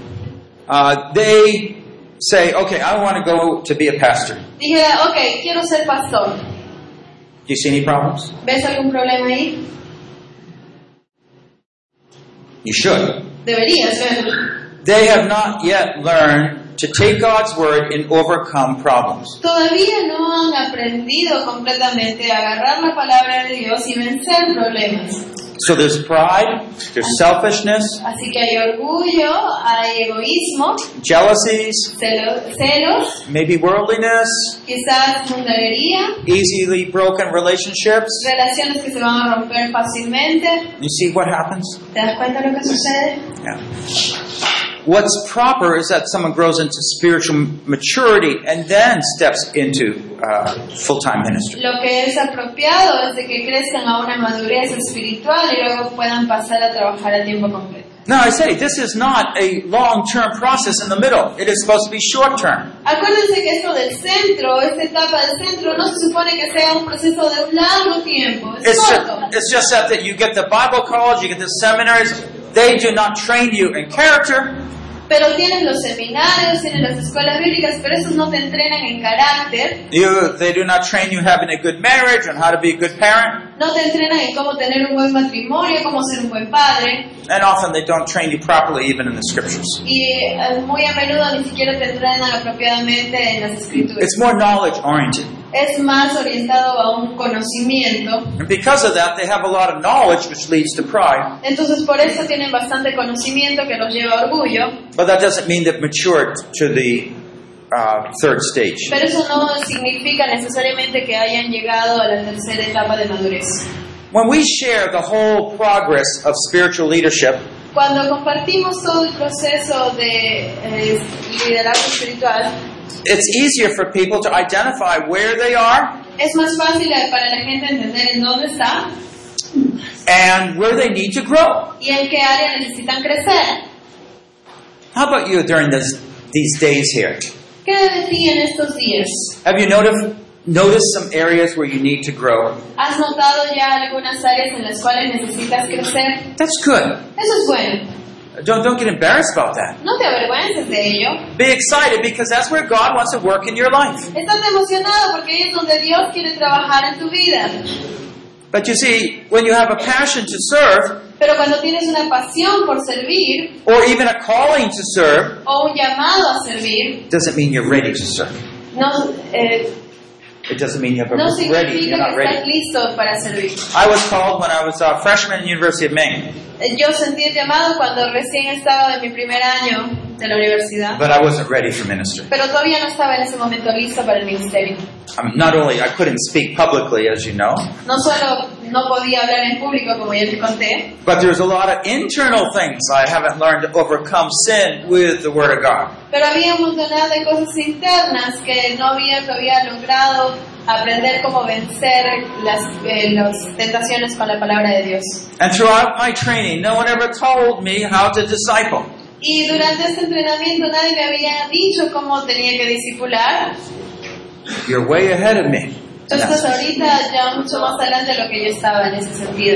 uh, they say, okay, I want to go to be a pastor.
dijera, ok, quiero ser pastor?
Do you see any problems?
¿Ves algún problema ahí?
You should.
Deberías verlo.
They have not yet learned to take God's word and overcome problems.
Todavía no han aprendido completamente a agarrar la palabra de Dios y vencer problemas.
So there's pride, there's selfishness,
Así que hay orgullo, hay egoísmo,
jealousies,
celo- celos,
maybe worldliness,
quizás mundanería,
easily broken relationships.
relaciones que se van a romper fácilmente.
You see what happens?
¿Te das cuenta de lo que sucede?
Yeah. What's proper is that someone grows into spiritual maturity and then steps into uh, full-time ministry.
Lo que es apropiado es de que crezcan a una madurez espiritual y luego puedan pasar a trabajar a tiempo completo.
Now I say, this is not a long-term process in the middle. It is supposed to be short-term.
Acuérdense que esto del centro, esta etapa del centro, no se supone que sea un proceso de un largo tiempo. Es
It's just,
corto.
it's just that, that you get the Bible college, you get the seminaries. They do not train you in character.
Pero tienes los seminarios, tienes las escuelas bíblicas, pero esos no te entrenan en carácter.
You, they do not train you having a good marriage and how to be a good parent.
No te entrenan en cómo tener un buen matrimonio, cómo ser un buen padre.
And often they don't train you properly even in the scriptures.
Y eh, muy a menudo ni siquiera te entrenan apropiadamente en las escrituras.
It's more knowledge-oriented.
Es más orientado a un conocimiento.
And because of that, they have a lot of knowledge, which leads to pride.
Entonces por eso tienen bastante conocimiento que los lleva a orgullo.
But that doesn't mean they've matured to the uh, third stage.
Pero eso no significa necesariamente que hayan llegado a la tercera etapa de madurez.
When we share the whole progress of spiritual leadership,
Cuando compartimos todo el proceso de eh, liderazgo espiritual,
it's easier for people to identify where they are
es más fácil para la gente entender en dónde está
and where they need to grow.
y en qué área necesitan crecer.
How about you during this, these days here?
¿Qué de ti en estos días?
Have you noticed, noticed some areas where you need to grow?
¿Has notado ya algunas áreas en las cuales necesitas crecer?
That's good.
Eso es bueno.
Don't, don't get embarrassed about that.
No te avergüences de ello.
Be excited because that's where God wants to work in your life.
Estás emocionado porque ahí es donde Dios quiere trabajar en tu vida.
But you see, when you have a passion to serve,
Pero cuando tienes una pasión por servir
or even a calling to serve,
o un llamado a servir,
doesn't mean you're ready to serve.
no, eh,
It doesn't mean you're
no
ready. You're
significa
not
que estás
ready.
listo para servir.
I was called when I was a freshman at the University of Maine,
Eh, Yo sentí el llamado cuando recién estaba en mi primer año de la universidad,
but I wasn't ready for ministry.
pero todavía no estaba en ese momento listo para el ministerio.
I mean, not only I couldn't speak publicly, as you know,
No solo no podía hablar en público, como ya les conté,
but there's a lot of internal things I haven't learned to overcome sin with the Word of God.
pero había un montón de cosas internas que no había todavía logrado aprender cómo vencer las, eh, las tentaciones con la palabra de Dios.
And throughout my training, no one ever told me how to disciple.
Y durante este entrenamiento nadie me había dicho cómo tenía que discipular.
You're way ahead of me.
Tú estás ahorita ya mucho más adelante de lo que yo estaba en ese sentido.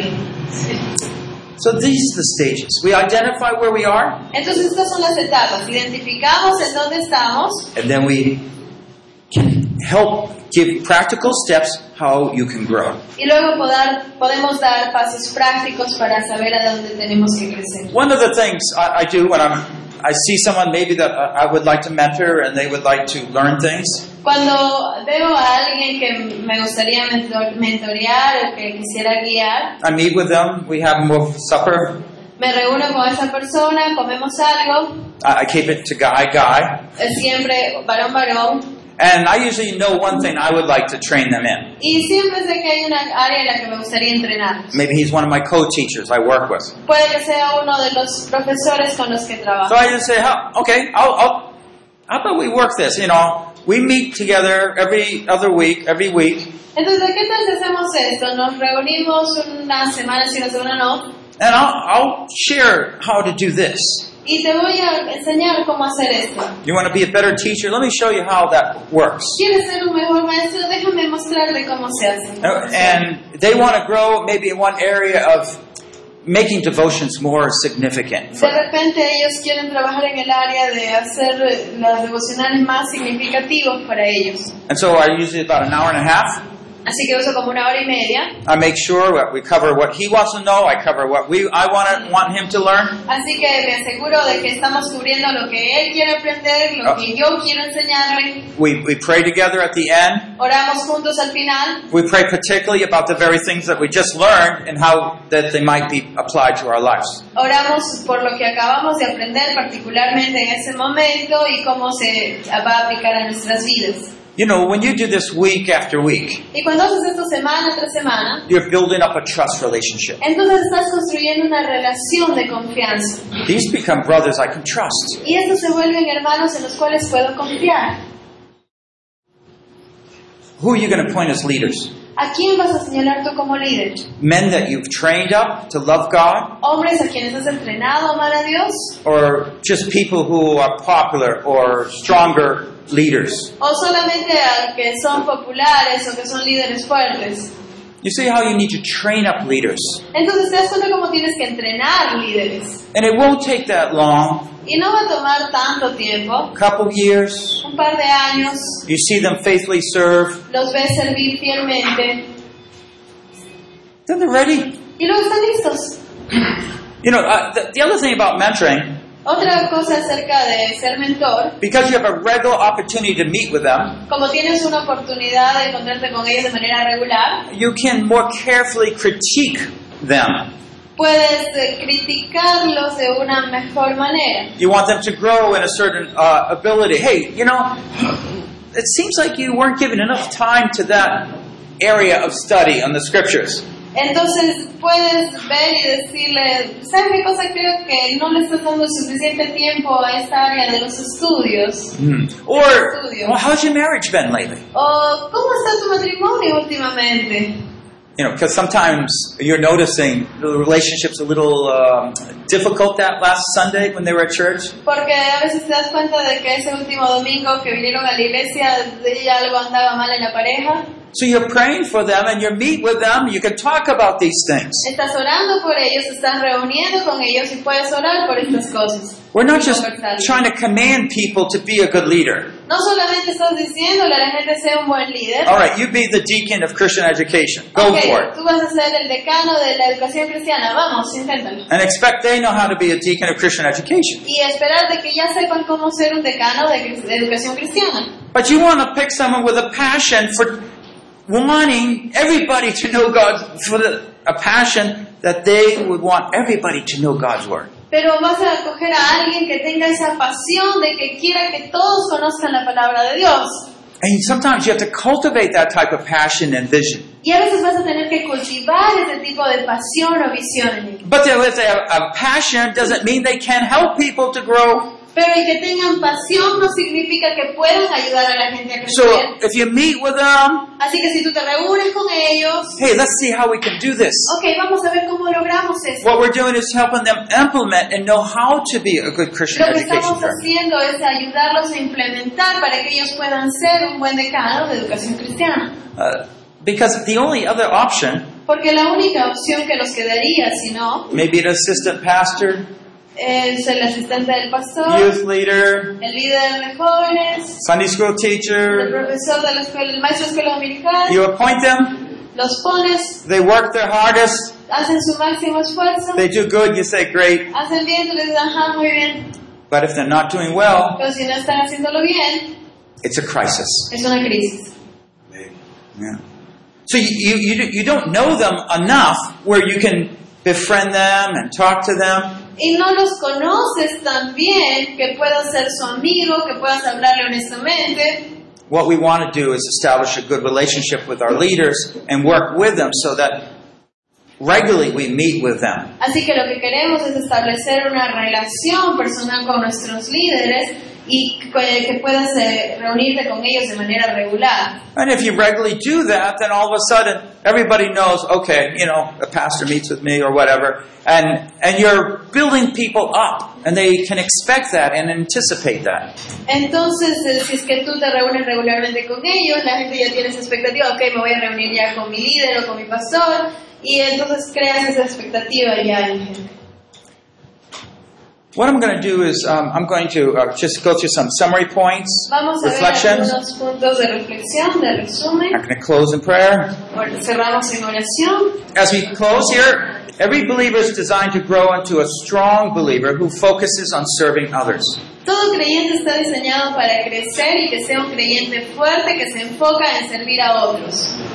So these are the stages. We identify where we are,
Entonces estas son las etapas. Identificamos en dónde estamos
and then we can help give practical steps how you can grow.
y luego poder, podemos dar pasos prácticos para saber a dónde tenemos que crecer.
One of the things I, I do when I'm, I see someone maybe that I would like to mentor and they would like to learn things,
Cuando veo a alguien que me gustaría mentor- mentorear o que quisiera guiar,
I meet with them, we have more supper,
me reúno con esa persona, comemos algo,
I, I keep it to guy, guy,
es siempre varón varón,
and I usually know one thing I would like to train them in.
y siempre sé que hay una área en la que me gustaría entrenar.
Maybe he's one of my co-teachers I work with.
Puede que sea uno de los profesores con los que
So
trabajo.
I just say, "How- okay, I'll, I'll, how about we work this? You know, we meet together every other week, every week,
Entonces, ¿qué tal si hacemos esto? Nos reunimos una semana sí, una semana no,
and I'll, I'll share how to do this.
y te voy a enseñar cómo hacer esto.
You want to be a better teacher? Let me show you how that works."
¿Quieres ser un mejor maestro? Déjame mostrarte cómo se hace.
And they want to grow maybe in one area of making devotions more significant.
De repente ellos quieren trabajar en el área de hacer los devocionales más significativos para ellos.
And so I usually about an hour and a half.
Así que uso como una hora y media.
I make sure that we cover what he wants to know. I cover what we I want to, want him to learn.
Así que me aseguro de que estamos cubriendo lo que él quiere aprender, lo que yo quiero enseñarle.
We we pray together at the end.
Oramos juntos al final.
We pray particularly about the very things that we just learned and how that they might be applied to our lives.
Oramos por lo que acabamos de aprender, particularmente en ese momento, y cómo se va a aplicar a nuestras vidas.
You know, when you do this week after week,
Y cuando haces esto semana tras semana,
you're building up a trust relationship.
entonces estás construyendo una relación de confianza.
These become brothers I can trust.
Y estos se vuelven hermanos en los cuales puedo confiar.
Who are you going to appoint as leaders?
¿A quién vas a señalar tú como líder?
Men that you've trained up to love God,
¿Hombres a quienes has entrenado a amar a Dios?
or just people who are popular or stronger leaders?
¿O solamente a que son populares o que son líderes fuertes?
You see how you need to train up leaders.
Entonces te das cuenta cómo tienes que entrenar líderes.
And it won't take that long.
Y no va a tomar tanto tiempo,
A couple years,
un par de años,
you see them faithfully serve,
los ves servir fielmente
then they're ready.
y luego están listos.
You know, uh, the, the other thing about mentoring,
Otra cosa acerca de ser mentor,
because you have a regular opportunity to meet with them,
como tienes una oportunidad de encontrarte con ellos de manera regular,
you can more carefully critique them.
puedes eh, criticarlos de una mejor manera.
You want them to grow in a certain uh, ability. Hey, you know, it seems like you weren't giving enough time to that area of study on the scriptures.
Entonces puedes ver y decirle, ¿sabes qué cosa? Creo que no le estás dando suficiente tiempo a esta área de los estudios.
Mm. Or, well, how's your marriage been lately?
O, ¿cómo está tu matrimonio últimamente?
You know, because sometimes you're noticing the relationship's a little um, difficult that last Sunday when they were at church.
Porque a veces te das cuenta de que ese último domingo que vinieron a la iglesia de algo andaba mal en la pareja.
So you're praying for them and you meet with them. You can talk about these things.
Estás orando por ellos, estás reuniendo con ellos y puedes orar por estas cosas.
We're not
Y
just
conversarlo.
trying to command people to be a good leader.
No solamente estás diciéndole a la gente sea un buen líder.
All right, you be the deacon of Christian education. Go
Ok,
for it.
tú vas a ser el decano de la educación cristiana. Vamos, inténtalo.
And expect they know how to be a deacon of Christian education.
Y esperar de que ya sepan cómo ser un decano de, cri- de educación cristiana.
But you want to pick someone with a passion for wanting everybody to know God, for the, a passion that they would want everybody to know God's Word.
Pero vas a coger a alguien que tenga esa pasión de que quiera que todos conozcan la palabra de Dios.
And sometimes you have to cultivate that type of passion and vision.
Y a veces vas a tener que cultivar ese tipo de pasión o visión en ellos.
But if they have a passion, doesn't mean they can't help people to grow.
Pero el que tengan pasión no significa que puedan ayudar a la gente a
So
crecer.
if you meet with them,
Así que si tú te reúnes con ellos,
hey, let's see how we can do this.
ok, vamos a ver cómo logramos eso.
What we're doing is helping them implement and know how to be a good Christian
Lo que
education
estamos
firm.
haciendo es ayudarlos a implementar para que ellos puedan ser un buen decano de educación cristiana.
Uh, because the only other option,
Porque la única opción que nos quedaría, si no,
maybe an assistant pastor,
es el asistente del pastor,
youth leader,
el líder de jóvenes,
Sunday school
el
teacher,
profesor de la escuela, el maestro de escuela dominical.
you appoint them,
Los pones,
they work their hardest,
hacen su máximo esfuerzo,
they do good, you say great.
hacen bien, tú les dices, ajá, muy bien.
But if they're not doing well,
Pero si no están haciéndolo bien,
it's a crisis.
es una crisis.
Yeah. So you, you, you you don't know them enough where you can befriend them and talk to them.
Y no los conoces tan bien que puedas ser su amigo, que puedas hablarle honestamente.
What we want to do is establish a good relationship with our leaders and work with them so that regularly we meet with them.
Así que lo que queremos es establecer una relación personal con nuestros líderes y que que puedas eh, reunirte con ellos de manera regular.
And if you regularly do that, then all of a sudden everybody knows, okay, you know, a pastor meets with me or whatever, and and you're building people up, and they can expect that and anticipate that.
Entonces, eh, si es que tú te reúnes regularmente con ellos, la gente ya tiene esa expectativa, ok, me voy a reunir ya con mi líder o con mi pastor, y entonces creas esa expectativa ya en la gente.
What I'm going to do is um, I'm going to uh, just go through some summary points,
Vamos a ver
reflections.
algunos puntos de reflexión, de resumen.
I'm going to close in prayer.
Bueno, cerramos en oración.
As we close here, every believer is designed to grow into a strong believer who focuses on serving others.
Todo creyente está diseñado para crecer y que sea un creyente fuerte que se enfoca en servir a otros.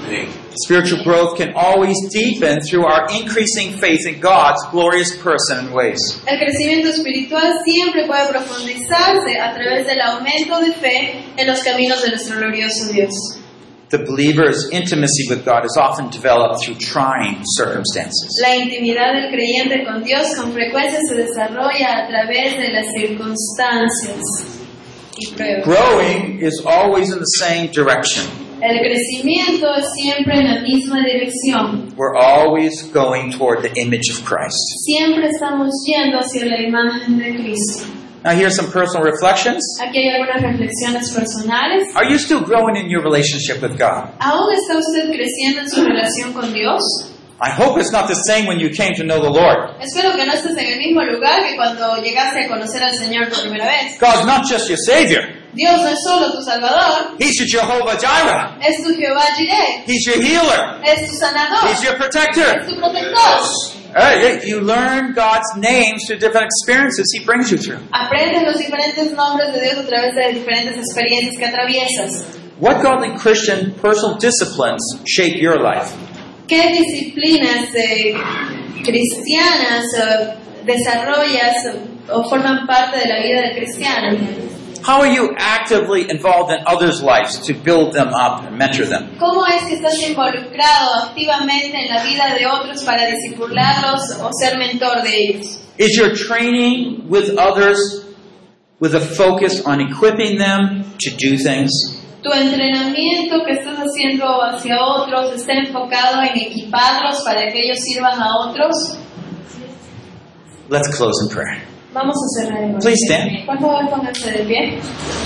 Spiritual growth can always deepen through our increasing faith in God's glorious person and ways.
El crecimiento espiritual siempre puede profundizarse a través del aumento de fe en los caminos de nuestro glorioso Dios.
The believer's intimacy with God is often developed through trying circumstances.
La intimidad del creyente con Dios con frecuencia se desarrolla a través de las circunstancias y pruebas.
Growing is always in the same direction.
El crecimiento es siempre en la misma dirección.
We're always going toward the image of Christ.
Siempre estamos yendo hacia la imagen de Cristo.
Now here's some personal reflections.
Aquí hay algunas reflexiones personales.
Are you still growing in your relationship with God?
¿Aún está usted creciendo en su relación con Dios?
I hope it's not the same when you came to know the Lord.
Espero que no estés en el mismo lugar que cuando llegaste a conocer al Señor por primera vez.
God's not just your Savior.
Dios no es solo tu Salvador,
He's your Jehovah Jireh.
es tu Jehová Jireh,
He's your healer.
es tu sanador,
He's your
es
protector.
tu protector.
Uh, you learn God's names through different experiences He brings you through.
Aprendes los diferentes nombres de Dios a través de diferentes experiencias que atraviesas.
What godly Christian personal disciplines shape your life?
¿Qué disciplinas eh, cristianas eh, desarrollas eh, o forman parte de la vida del cristiano?
How are you actively involved in others' lives to build them up and mentor them?
¿Cómo es que estás involucrado activamente en la vida de otros para discipularlos o ser mentor de ellos?
Is your training with others with a focus on equipping them to do things?
¿Tu entrenamiento que estás haciendo hacia otros está enfocado en equiparlos para que ellos sirvan a otros?
Let's close in prayer.
Vamos a cerrar el
Please stand.
Por favor, pónganse de pie.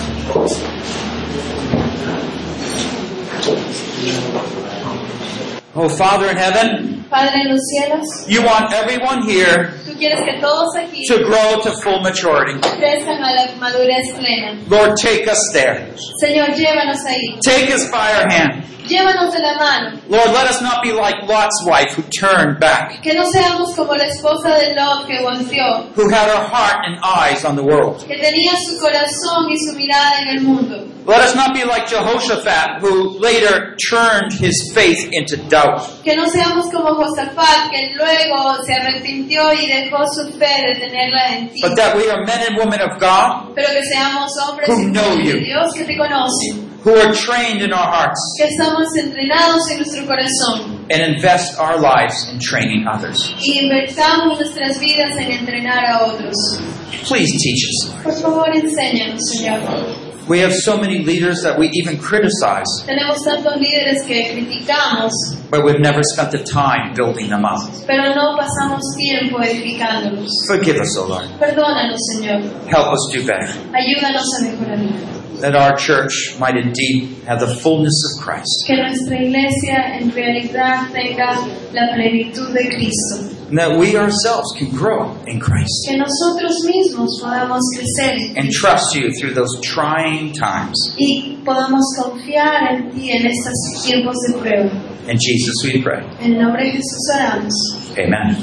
Oh, Father in heaven,
Padre en los cielos,
you want everyone here
tú quieres que todos aquí
to grow to full maturity.
crezcan a la madurez plena.
Lord, take us there.
Señor, llévanos ahí.
Take us by our hand.
Llévanos de la mano.
Lord, let us not be like Lot's wife who turned back,
Que no seamos como la esposa de Lot que volteó,
who had her heart and eyes on the world.
que tenía su corazón y su mirada en el mundo.
Let us not be like Jehoshaphat, who later turned his faith into doubt.
Que no seamos como Josafat, que luego se arrepintió y dejó su fe de tenerla en ti.
But that we are men and women of God,
Pero que seamos hombres
Who
y
know
mujeres de
you.
Dios que te conocen.
who are trained in our hearts,
Que estamos entrenados en nuestro corazón.
and invest our lives in training others.
Y invertamos nuestras vidas en entrenar a otros.
Please teach us, Lord.
Por favor, enséñanos, Señor.
We have so many leaders that we even criticize,
Tenemos tantos líderes que criticamos,
but we've never spent the time building them up.
pero no pasamos tiempo edificándolos.
Forgive us, O Lord.
Perdónanos, Señor.
Help us do better,
Ayúdanos a mejorar.
that our church might indeed have the fullness of Christ,
Que nuestra iglesia en realidad tenga la plenitud de Cristo.
and that we ourselves can grow in Christ
Que nosotros mismos podamos crecer en
and
ti
trust you through those trying times.
y podamos confiar en ti en estos tiempos de prueba.
In Jesus we pray.
En nombre de Jesús oramos.
Amen.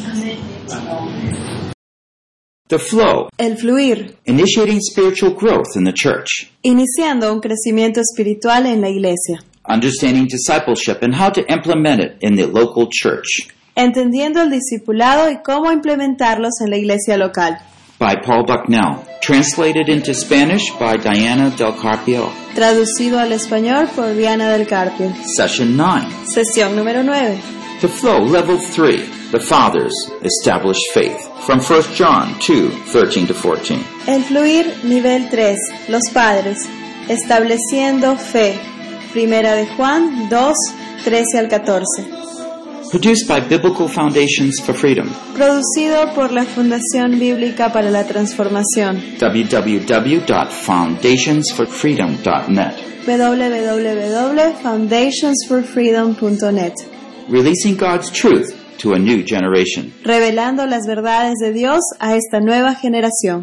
Amén.
The flow,
El fluir,
initiating spiritual growth in the church,
iniciando un crecimiento espiritual en la iglesia,
understanding discipleship and how to implement it in the local church,
entendiendo el discipulado y cómo implementarlos en la iglesia local.
by Paul Bucknell, translated into Spanish by Diana Del Carpio.
Traducido al español por Diana del Carpio.
Session nine.
Sesión número nueve.
The flow, level three, the fathers, established faith, from First John two, thirteen to fourteen.
El fluir, nivel tres. Los padres, estableciendo fe. Primera de Juan dos, trece al catorce.
Produced by Biblical Foundations for Freedom.
Producido por la Fundación Bíblica para la Transformación.
w w w dot foundations for freedom dot net.
w w w punto foundations for freedom punto net.
Releasing God's truth to a new generation.
Revelando las verdades de Dios a esta nueva generación.